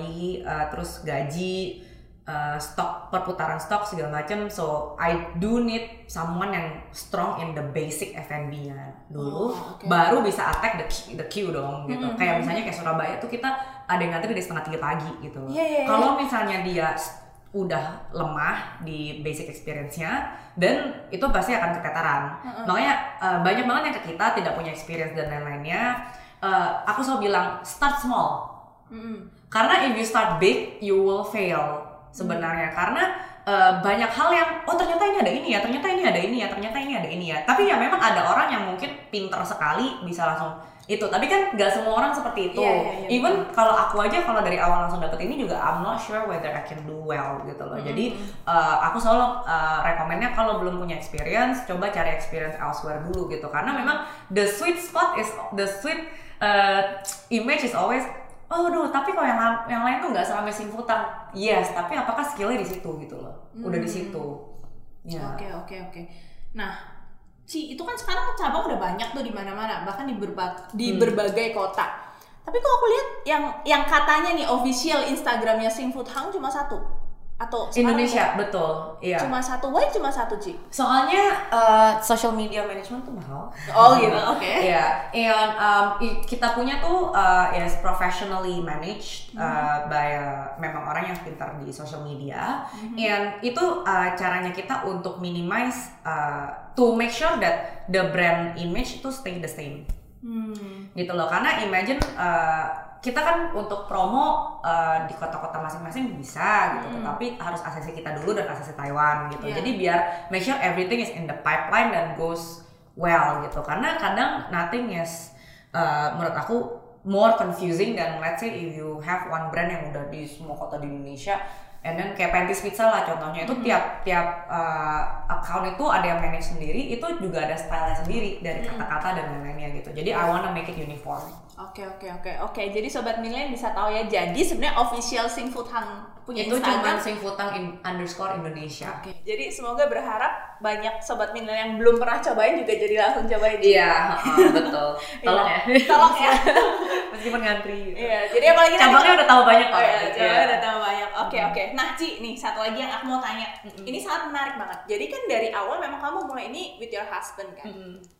terus gaji, stok, perputaran stok segala macam. So I do need someone yang strong in the basic F&B-nya dulu, baru bisa attack the queue dong gitu. Kayak misalnya kayak Surabaya tuh kita ada yang ngantri dari 2:30 pagi gitu loh. Kalau misalnya dia udah lemah di basic experience-nya, dan itu pasti akan keteteran. Makanya banyak banget yang ke kita tidak punya experience dan lain-lainnya. Aku selalu bilang start small. Karena if you start big, you will fail sebenarnya. Karena banyak hal yang ternyata ini ada ini ya, ternyata ini ada ini ya, ternyata ini ada ini ya. Tapi ya memang ada orang yang mungkin pinter sekali bisa langsung itu, tapi kan nggak semua orang seperti itu. Even kalau aku aja kalau dari awal langsung dapet ini juga I'm not sure whether I can do well gitu loh. Jadi aku selalu rekomennya kalau belum punya experience, coba cari experience elsewhere dulu gitu. Karena memang the sweet spot is the sweet image is always tapi kalau yang lain tuh nggak sampai simputan. Yes, tapi apakah skillnya di situ gitu loh? Udah di situ. Ya. Oke. Nah, itu kan sekarang cabang udah banyak tuh di mana-mana, bahkan di berbagai kota. Tapi kok aku lihat yang katanya nih official Instagramnya Sing Food Hang cuma satu atau Indonesia, betul. Iya. Cuma satu. Why cuma satu, Ci? Soalnya social media management tuh mahal. Oh gitu, oke. Iya. And kita punya tuh is professionally managed by memang orang yang pintar di social media. And itu caranya kita untuk minimize to make sure that the brand image itu stay the same. Gitu loh. Karena imagine kita kan untuk promo di kota-kota masing-masing bisa gitu, tetapi harus ACC kita dulu dan ACC Taiwan gitu. Jadi biar make sure everything is in the pipeline dan goes well gitu. Karena kadang nothing is menurut aku more confusing than let's say if you have one brand yang udah di semua kota di Indonesia. And then kayak Panties Pizza lah contohnya, itu tiap account itu ada yang manage sendiri, itu juga ada style sendiri dari kata-kata dan lain-lainnya gitu. Jadi I wanna make it uniform. Oke. Jadi Sobat Milenial bisa tahu ya. Jadi sebenarnya official Sing Food Hang punya itu Instagram. Itu cuma Sing Food Hang _Indonesia. Oke. Jadi semoga berharap banyak Sobat Milenial yang belum pernah cobain juga jadi langsung cobain. Iya, betul. Tolong ya. Tolong ya. Meskipun ngantri. Iya. Jadi apalagi cabangnya udah tahu banyak kok. Cabangnya udah tahu banyak. Oke. Nah, Ci, nih satu lagi yang aku mau tanya. Ini sangat menarik banget. Jadi kan dari awal memang kamu mulai ini with your husband kan?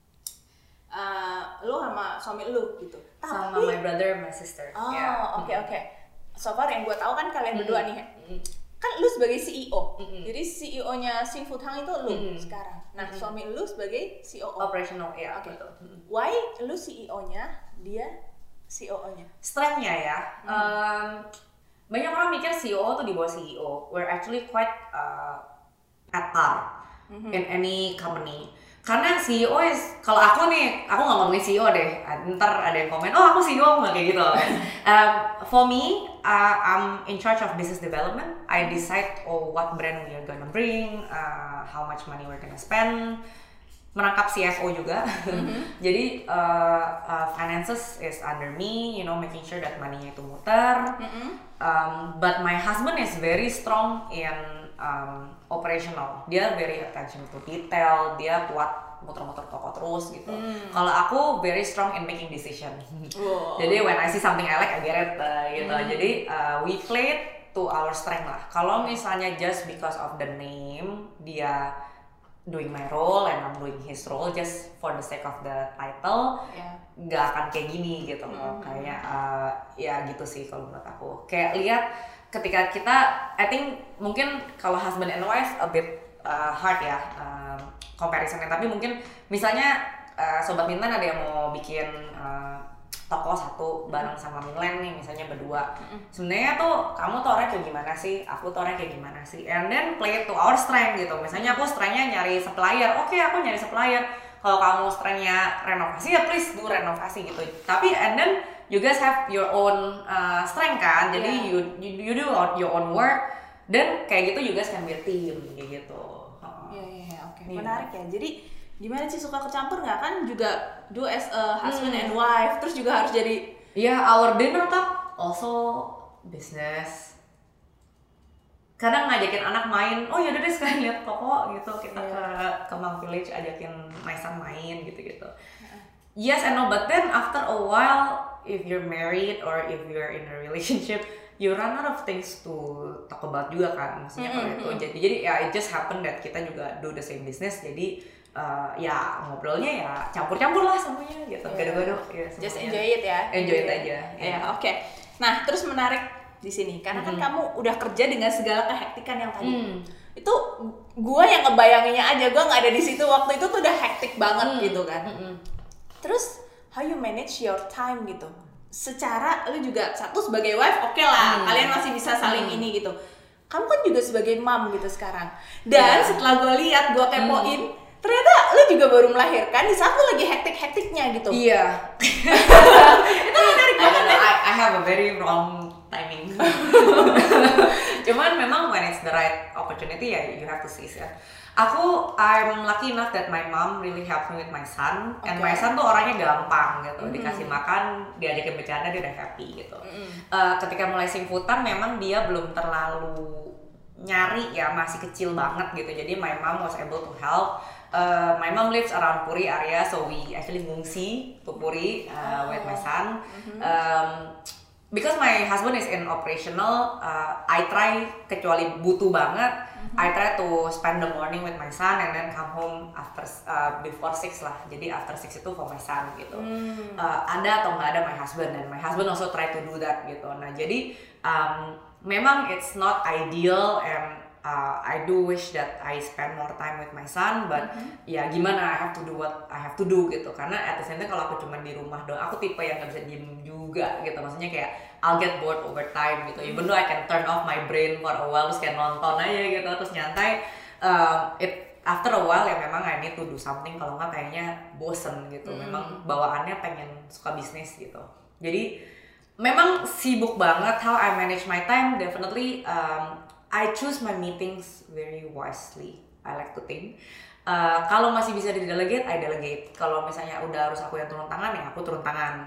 Lu sama suami lu gitu. Sama my brother, my sister. Oke. So far yang gue tahu kan kalian berdua nih. Kan lu sebagai CEO. Jadi CEO-nya Sing Food Hang itu lu sekarang. Nah, suami lu sebagai CEO. Operational, ya. Oke. Why lu CEO-nya, dia COO-nya? Strength-nya ya. Banyak orang mikir CEO tuh di bawah CEO. We're actually quite at par in any company. Karena CEO is, kalau aku nih, aku nggak ngomongin CEO deh. Ntar ada yang komen, aku CEO nggak kayak gitu. For me, I'm in charge of business development. I decide what brand we are gonna bring, how much money we're gonna spend. Merangkap CFO juga. Jadi finances is under me, making sure that money-nya itu muter. But my husband is very strong in operational. Dia very attention to detail, dia kuat muter-muter toko terus gitu. Kalau aku very strong in making decision. Jadi when I see something I like, I get it gitu. Jadi we play it to our strength lah. Kalau misalnya just because of the name, dia doing my role and I'm doing his role just for the sake of the title, nggak akan kayak gini gitu loh. Kayaknya ya gitu sih kalau menurut aku. Kayak lihat ketika kita, I think mungkin kalau husband and wife a bit hard ya comparisonnya. Tapi mungkin misalnya Sobat Mintan ada yang mau bikin toko satu bareng sama Milen nih misalnya berdua. Sebenarnya tuh kamu tuh orangnya kayak gimana sih, aku tuh orangnya kayak gimana sih, and then play to our strength gitu. Misalnya aku strengthnya nyari supplier, oke aku nyari supplier. Kalau kamu strengthnya renovasi ya please do renovasi gitu. Tapi and then you guys have your own strength kan, jadi you do your own work. Dan kayak gitu juga can be a team kayak gitu. Oke. Menarik ya. Jadi gimana sih, suka kecampur nggak kan juga do as a husband and wife, terus juga harus jadi our dinner talk also business. Kadang ngajakin anak main, oh yaudah deh sekalian lihat toko gitu, kita ke Mang Village ajakin my son main gitu-gitu. Yes and no, but then after a while if you're married or if you're in a relationship, you run out of things to talk about juga kan, maksudnya kalau itu. Jadi ya it just happen that kita juga do the same business, jadi ya ngobrolnya ya campur-campur lah semuanya gitu, gado-gado ya semuanya. Just enjoy it ya. Enjoy it aja. Oke. Nah, terus menarik di sini karena kan kamu udah kerja dengan segala kehektikan yang tadi. Itu gua yang ngebayanginnya aja, gua nggak ada di situ waktu itu tuh udah hektik banget gitu kan. Terus how you manage your time gitu? Secara lu juga satu sebagai wife oke lah, kalian masih bisa saling ini gitu. Kamu kan juga sebagai mom gitu sekarang. Dan setelah gua lihat, gua kepoin, ternyata lu juga baru melahirkan di saat lu lagi hektik-hektiknya gitu. Iya. Itu menarik banget ya. I have a very wrong timing. Cuman memang when it's the right opportunity ya you have to seize it. I'm lucky enough that my mom really helped me with my son, and my son tuh orangnya gampang gitu, dikasih makan, diajakin bercanda dia udah happy gitu. Ketika mulai simputan memang dia belum terlalu nyari ya, masih kecil banget gitu, jadi my mom was able to help. My mom lives around Puri area, so we actually ngungsi to Puri with my son. Because my husband is in operational, I try, kecuali butuh banget, I try to spend the morning with my son and then come home after before 6 lah. Jadi after 6 itu for my son gitu. Ada atau nggak ada my husband, dan my husband also try to do that gitu. Nah jadi memang it's not ideal, and I do wish that I spend more time with my son, but ya gimana, I have to do what I have to do gitu. Karena at the same time kalau aku cuma di rumah doang, aku tipe yang nggak bisa diem juga gitu. Maksudnya kayak I'll get bored over time gitu. Even though I can turn off my brain for a while, terus kayak nonton aja gitu, terus nyantai. After a while ya memang I need to do something, kalau nggak kayaknya bosen gitu. Memang bawaannya pengen suka bisnis gitu. Jadi memang sibuk banget. How I manage my time, definitely I choose my meetings very wisely, I like to think. Kalau masih bisa di-delegate, I delegate. Kalau misalnya udah harus aku yang turun tangan, ya aku turun tangan.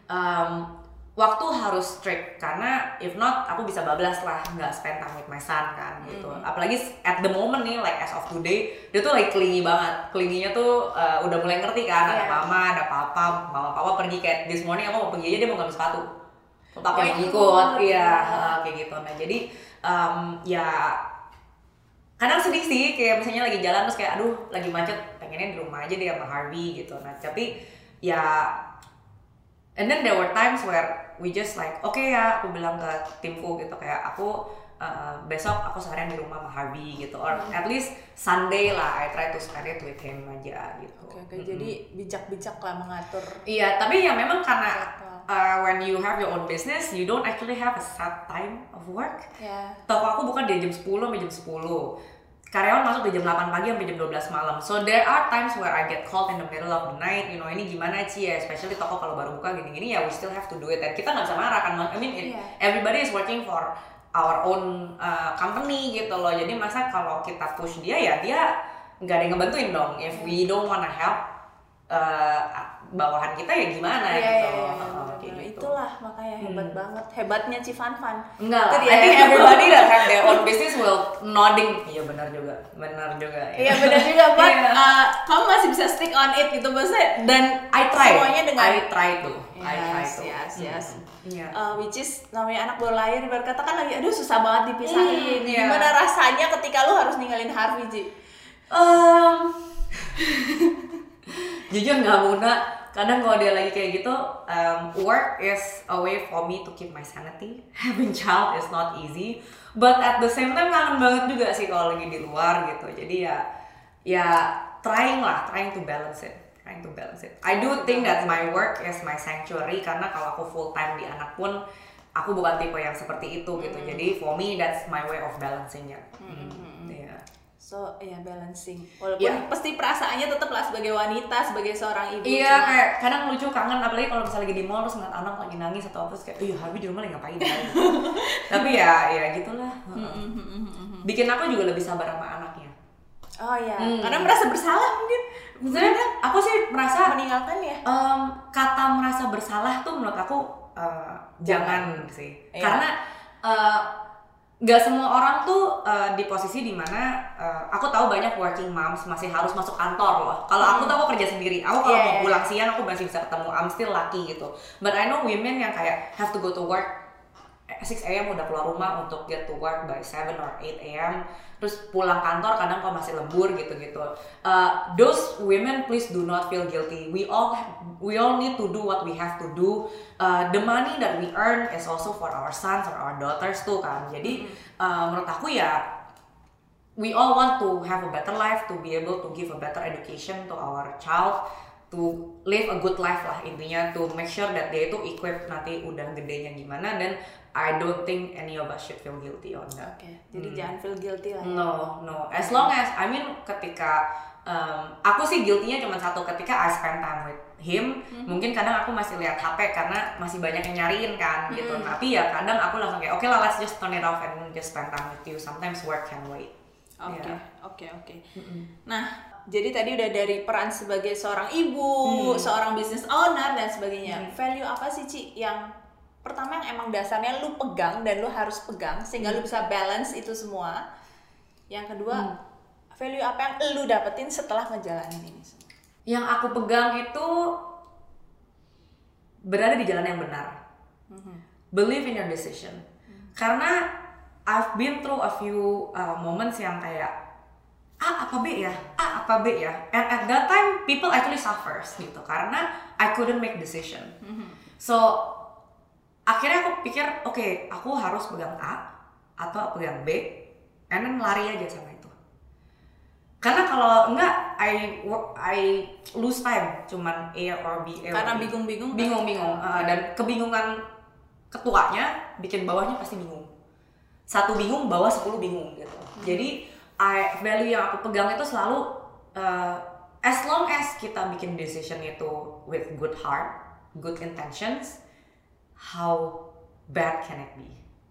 Waktu harus strict, karena if not, aku bisa bablas lah, nggak spend time with my son kan, gitu. Apalagi at the moment nih, like as of today, dia tuh like clingy banget. Clingy-nya tuh udah mulai ngerti kan, ada mama, ada papa, mama pergi kayak this morning aku mau pergi aja, dia mau ngambil sepatu. Papa yang ikut, kayak gitu. Nah jadi ya kadang sedih sih, kayak misalnya lagi jalan terus kayak aduh lagi macet, pengennya di rumah aja deh sama Harvey gitu. Nah tapi ya, and then there were times where we just like ya aku bilang ke timku gitu, kayak aku besok aku seharian di rumah sama Harvey gitu, or at least Sunday lah I try to spend it with him aja gitu. Jadi bijak-bijak lah mengatur. Iya, tapi ya memang karena when you have your own business, you don't actually have a set time of work. Toko aku bukan dari jam 10 sampai jam 10. Karyawan masuk dari jam 8 pagi sampai jam 12 malam. So there are times where I get called in the middle of the night, you know, ini gimana Ci ya, especially toko kalau baru buka gini-gini ya, we still have to do it. Dan kita nggak bisa marah kan, I mean everybody is working for our own company gitu loh. Jadi masa kalau kita push dia ya dia nggak ada yang ngebantuin dong. If we don't wanna help bawahan kita ya gimana gitu. Itulah makanya hebat banget, hebatnya Civan. Enggak lah, I think everybody that have their own business will nodding. Iya benar juga. Iya benar juga, but kamu masih bisa stick on it gitu maksudnya, dan I try. Semuanya dengan I try to. Yes. Which is namanya anak baru lahir, berkata kan lagi aduh susah banget dipisahin. Gimana rasanya ketika lu harus ninggalin Harvey, Ci? Jujur nggak Muna, kadang kalau dia lagi kayak gitu, work is a way for me to keep my sanity. Having child is not easy, but at the same time kangen banget juga sih kalau lagi di luar gitu. Jadi ya trying to balance it. trying to balance it. I do think that my work is my sanctuary karena kalau aku full time di anak pun aku bukan tipe yang seperti itu gitu. Jadi for me that's my way of balancing it. Yeah. So balancing. Walaupun pasti perasaannya tetap lah sebagai wanita, sebagai seorang ibu. Iya, kayak kadang lucu, kangen, apalagi kalau misalnya lagi di mall terus ngeliat anak lagi nangis atau apa, terus kayak, iya Harvey di rumah lagi ngapain? Tapi ya gitulah. Bikin aku juga lebih sabar sama anaknya. Oh iya, karena merasa bersalah mungkin. Sebenarnya aku sih merasa meninggalkan ya. Kata merasa bersalah tuh menurut aku jangan sih, karena gak semua orang tuh di posisi dimana aku tahu banyak working moms masih harus masuk kantor loh. Kalau aku tuh aku kerja sendiri, aku kalau mau pulang siang aku masih bisa ketemu, I'm still lucky gitu. But I know women yang kayak have to go to work 6 AM udah keluar rumah untuk get to work by 7 or 8 AM, terus pulang kantor kadang kalau masih lembur gitu-gitu. Those women please do not feel guilty. We all need to do what we have to do. The money that we earn is also for our sons or our daughters tuh kan. Jadi menurut aku ya we all want to have a better life, to be able to give a better education to our child, to live a good life lah intinya, to make sure that dia itu equipped nanti udah gedenya gimana. Dan I don't think any of us should feel guilty on that. Jadi jangan feel guilty lah. No. As long as, I mean, ketika aku sih guilty-nya cuma satu, ketika I spend time with him, mungkin kadang aku masih lihat HP karena masih banyak yang nyariin kan gitu. Tapi ya kadang aku langsung kayak, okay lah, let's just turn it off and just spend time with you. Sometimes work can wait. Oke. Nah, jadi tadi udah dari peran sebagai seorang ibu, seorang business owner dan sebagainya. Value apa sih Ci yang pertama yang emang dasarnya lu pegang dan lu harus pegang sehingga lu bisa balance itu semua? Yang kedua, value apa yang lu dapetin setelah ngejalanin ini semua? Yang aku pegang itu berada di jalan yang benar. Believe in your decision. Karena I've been through a few moments yang kayak A apa B ya? And at that time people actually suffers gitu karena I couldn't make decision. So akhirnya aku pikir, oke, aku harus pegang A atau pegang B, and then lari aja sama itu. Karena kalau enggak, I lose time, cuman A or B. Karena bingung-bingung. Dan kebingungan ketuanya bikin bawahnya pasti bingung. Satu bingung, bawah 10 bingung gitu. Jadi value yang aku pegang itu selalu as long as kita bikin decision itu with good heart, good intentions, how bad can it be?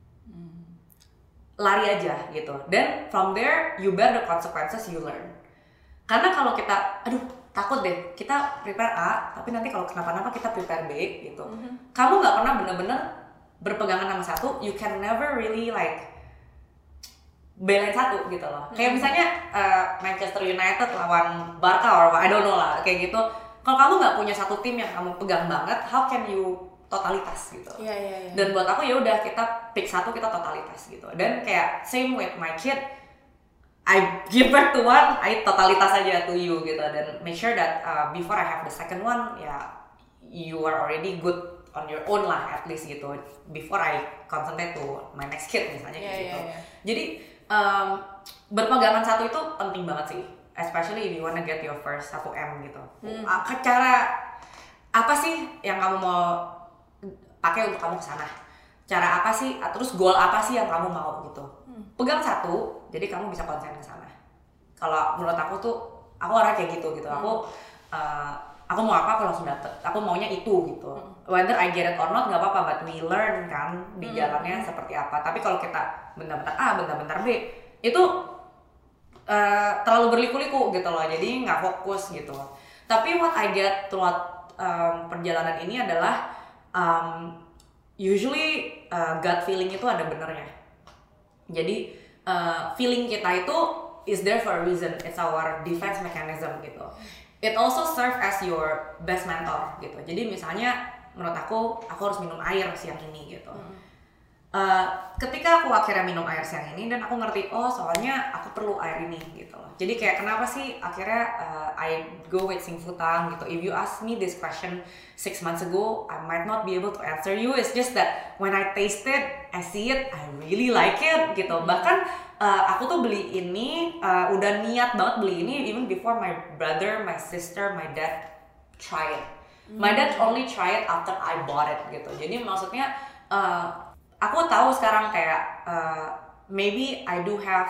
Lari aja gitu. Then from there you bear the consequences you learn. Karena kalau kita, aduh takut deh, kita prepare A, tapi nanti kalau kenapa-napa kita prepare B gitu. Kamu nggak pernah bener-bener berpegangan sama satu, you can never really like balance satu gitu loh. Kayak misalnya Manchester United lawan Barca or I don't know lah kayak gitu. Kalau kamu nggak punya satu tim yang kamu pegang banget, how can you totalitas gitu? Iya. Dan buat aku ya udah kita pick satu, kita totalitas gitu. Dan kayak same with my kid, I give birth to one, I totalitas aja to you gitu. Dan make sure that before I have the second one, ya you are already good on your own lah at least gitu. Before I concentrate to my next kid misalnya gitu. Jadi berpegangan satu itu penting banget sih, especially if you wanna get your first 1M gitu. Cara apa sih yang kamu mau pakai untuk kamu kesana? Cara apa sih? Terus goal apa sih yang kamu mau gitu? Pegang satu, jadi kamu bisa konsen ke sana. Kalau menurut aku tuh, aku orang kayak gitu. Aku mau apa, aku langsung dapet. Aku maunya itu gitu. Whether I get it or not, nggak apa-apa. But we learn kan di jalannya seperti apa. Tapi kalau kita bentar-bentar A, bentar-bentar B, itu terlalu berliku-liku gitu loh. Jadi nggak fokus gitu. Tapi what I get throughout perjalanan ini adalah usually gut feeling itu ada benernya. Jadi feeling kita itu is there for a reason. It's our defense mechanism gitu. It also serve as your best mentor gitu. Jadi misalnya menurut aku harus minum air siang ini gitu. Ketika aku akhirnya minum air siang ini dan aku ngerti, oh soalnya aku perlu air ini gitu. Jadi kayak kenapa sih akhirnya I go with Sing Futang gitu. If you ask me this question 6 months ago, I might not be able to answer you. It's just that when I taste it, I see it, I really like it gitu. Bahkan aku tuh beli ini, udah niat banget beli ini even before my brother, my sister, my dad try it. My dad only try it after I bought it gitu. Jadi maksudnya aku tahu sekarang kayak maybe I do have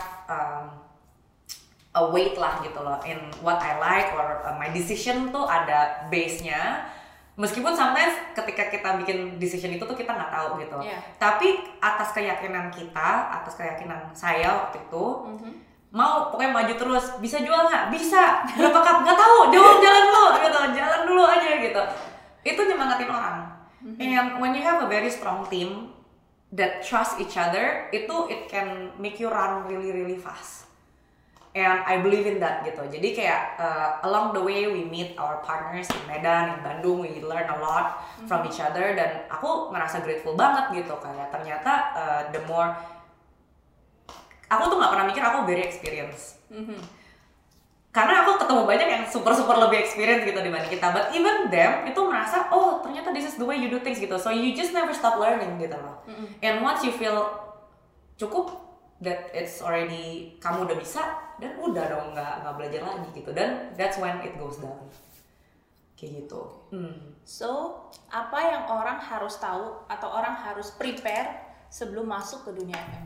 a weight lah gitu loh in what I like or my decision tuh ada base-nya. Meskipun sometimes ketika kita bikin decision itu tuh kita nggak tahu gitu. Tapi atas keyakinan kita, atas keyakinan saya waktu itu, mau pokoknya maju terus. Bisa jual nggak? Bisa. Berapa cup? Nggak tahu. Jalan dulu gitu. Jalan dulu aja gitu. Itu nyemangatin orang. And when you have a very strong team that trust each other, it can make you run really fast. And I believe in that gitu. Jadi kayak along the way we meet our partners in Medan, in Bandung, we learn a lot from each other dan aku ngerasa grateful banget gitu kayak ternyata the more aku tuh nggak pernah mikir aku very experienced. Karena aku ketemu banyak yang super lebih experience gitu dibanding kita, but even them itu merasa oh ternyata this is the way you do things gitu, so you just never stop learning gitu loh. And once you feel cukup that it's already kamu udah bisa dan udah dong nggak belajar lagi gitu, dan that's when it goes down kayak gitu. So apa yang orang harus tahu atau orang harus prepare sebelum masuk ke dunia F&B?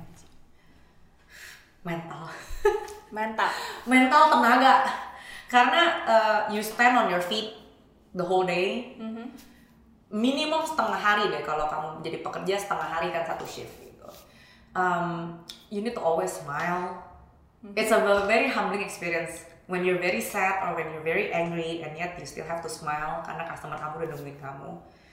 mental tenaga, karena you stand on your feet the whole day. Minimum setengah hari deh kalau kamu jadi pekerja, setengah hari kan satu shift gitu. You need to always smile. It's a very humbling experience when you're very sad or when you're very angry and yet you still have to smile karena customer kamu udah nungguin kamu.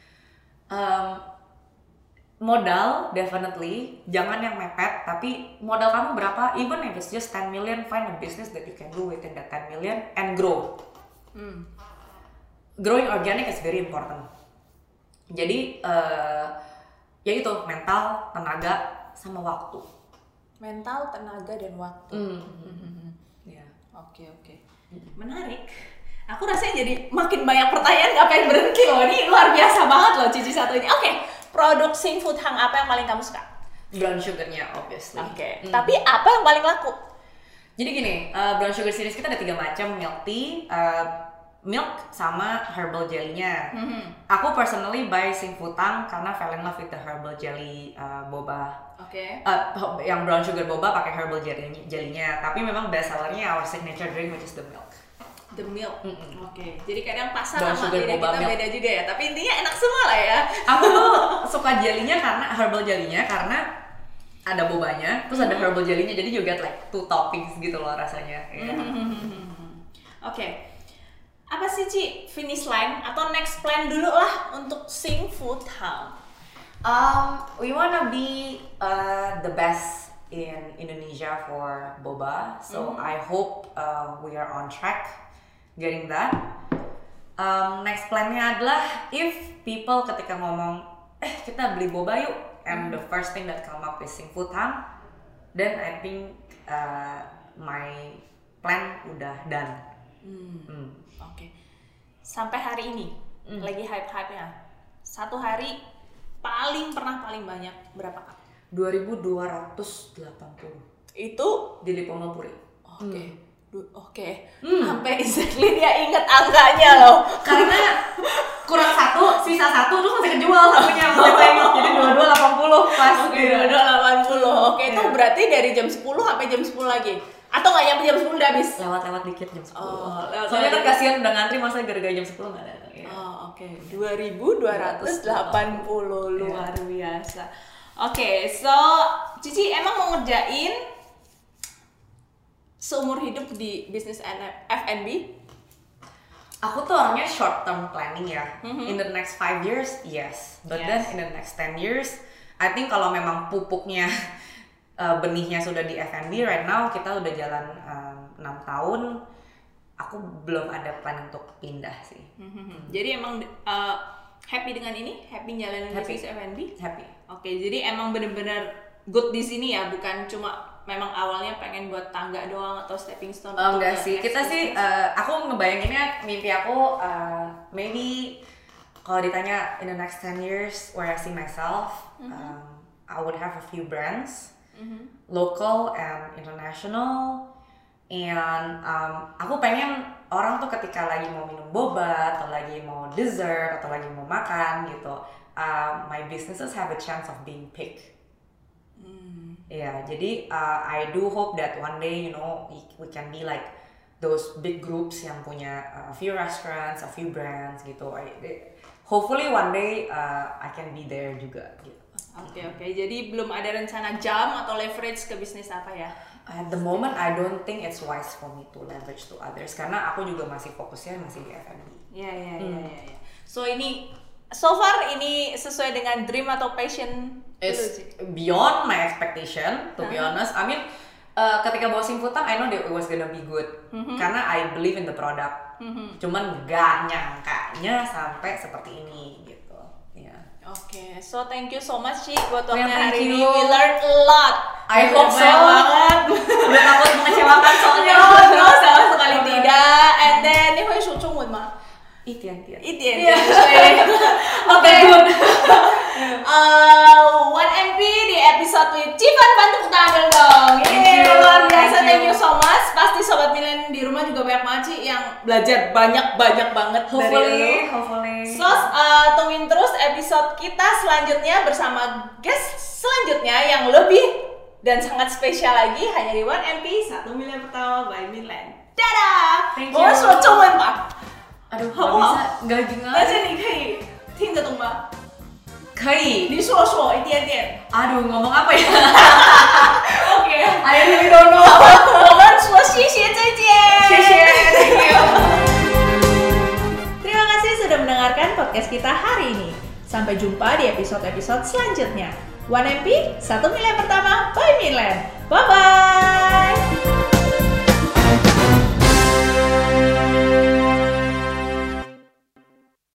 Modal definitely jangan yang mepet, tapi modal kamu berapa, even if it's just 10 million, find a business that you can do within that 10 million and grow. Growing organic is very important. Jadi ya itu mental, tenaga, sama waktu. Mental, tenaga, dan waktu. Oke. Menarik. Aku rasanya jadi makin banyak pertanyaan gak pengen berhenti loh. Ini luar biasa banget loh Cici satu ini. Oke, produk Sing Food Hang apa yang paling kamu suka? Brown sugarnya obviously. Tapi apa yang paling laku? Jadi gini, brown sugar series kita ada 3 macam, milk tea, milk sama herbal jelly-nya. Aku personally buy Sing Food Hang karena fell in love with the herbal jelly boba. Yang brown sugar boba pakai herbal jelly-nya. Tapi memang best sellernya our signature drink which is the milk. The milk. Jadi kadang pasar sama lidah kita milk beda juga ya. Tapi intinya enak semua lah ya. Aku tuh suka jelly-nya karena herbal jelly-nya karena ada bobanya, terus ada herbal jelly-nya, jadi you get like 2 toppings gitu loh rasanya. Apa sih Ci finish line atau next plan dulu lah untuk Sing Food Hang? We wanna be the best in Indonesia for boba, so I hope we are on track getting that. Next plan-nya adalah if people ketika ngomong kita beli boba yuk, and the first thing that come up is Sing Food Hang, then I think my plan udah done. Sampai hari ini lagi hype-hype-nya. Satu hari paling banyak berapa kak? 2.280. Itu di Lipomopuri. Sampai exactly dia inget angkanya loh. Karena kurang 1, sisa 1 terus masih kejual satunya jadi 2280 pas. 2280. Itu berarti dari jam 10 sampai jam 10 lagi. Atau nggak nyampe jam 10 udah habis? Lewat dikit jam 10. Soalnya kan kasihan udah ngantri, masa gara-gara jam 10 nggak ada. 2.280 luar biasa. So Cici emang mau ngerjain seumur hidup di bisnis F&B? Aku tuh orangnya short term planning ya. In the next 5 years, yes. But then in the next 10 years, I think kalau memang pupuknya benihnya sudah di F&B, right now kita udah jalan 6 tahun, aku belum ada plan untuk pindah sih. Jadi emang happy dengan ini? Happy jalanin bisnis F&B? Happy. Jadi emang bener-bener good di sini ya, bukan cuma memang awalnya pengen buat tangga doang atau stepping stone? Enggak sih, kita sih, aku ngebayanginnya mimpi aku maybe kalau ditanya in the next 10 years where I see myself, I would have a few brands. Local and international, and aku pengen orang tuh ketika lagi mau minum boba atau lagi mau dessert atau lagi mau makan gitu, my businesses have a chance of being picked. Ya, jadi I do hope that one day, you know, we can be like those big groups yang punya a few restaurants, a few brands gitu. Hopefully one day I can be there juga gitu. Oke. Jadi belum ada rencana jam atau leverage ke bisnis apa ya? At the moment I don't think it's wise for me to leverage to others karena aku juga masih fokusnya masih di F&B. Iya. So far ini sesuai dengan dream atau passion? It's beyond my expectation, to be honest. I mean, ketika bawa Simfutang, I know that it was gonna be good karena I believe in the product. Cuman gak nyangkanya sampai seperti ini gitu. Yeah. Oke, so thank you so much Ci buat waktunya Thank hari you. ini. We learned a lot. I hope so. Banget. Udah takut mengecewakan soalnya. No, sama sekali tidak. And then ini hui su chung ma. 一点点。 Oke, good. 1MP di episode with Civan, bantu tepuk tangan dong. Luar biasa, thank you so much. Pasti sobat Milen di rumah juga banyak banget Ci yang belajar banyak banget dari lu. Hopefully. So, tungguin terus episode kita selanjutnya bersama guest selanjutnya yang lebih dan sangat spesial lagi hanya di 1MP 1 Milen pertama by Milen. Dadah. Thank you. 我说中文吧。 Aduh, 好不好？ nggak bisa, 而且你可以听得懂吗？ 可以。 你说一点点。 Aduh, ngomong apa ya? OK， I really don't know. 我们说谢谢，再见。 谢谢 thank you. Terima kasih sudah mendengarkan podcast kita hari ini. Sampai jumpa di episode-episode selanjutnya. 1MP, 1 Milen pertama by Milen. Bye-bye.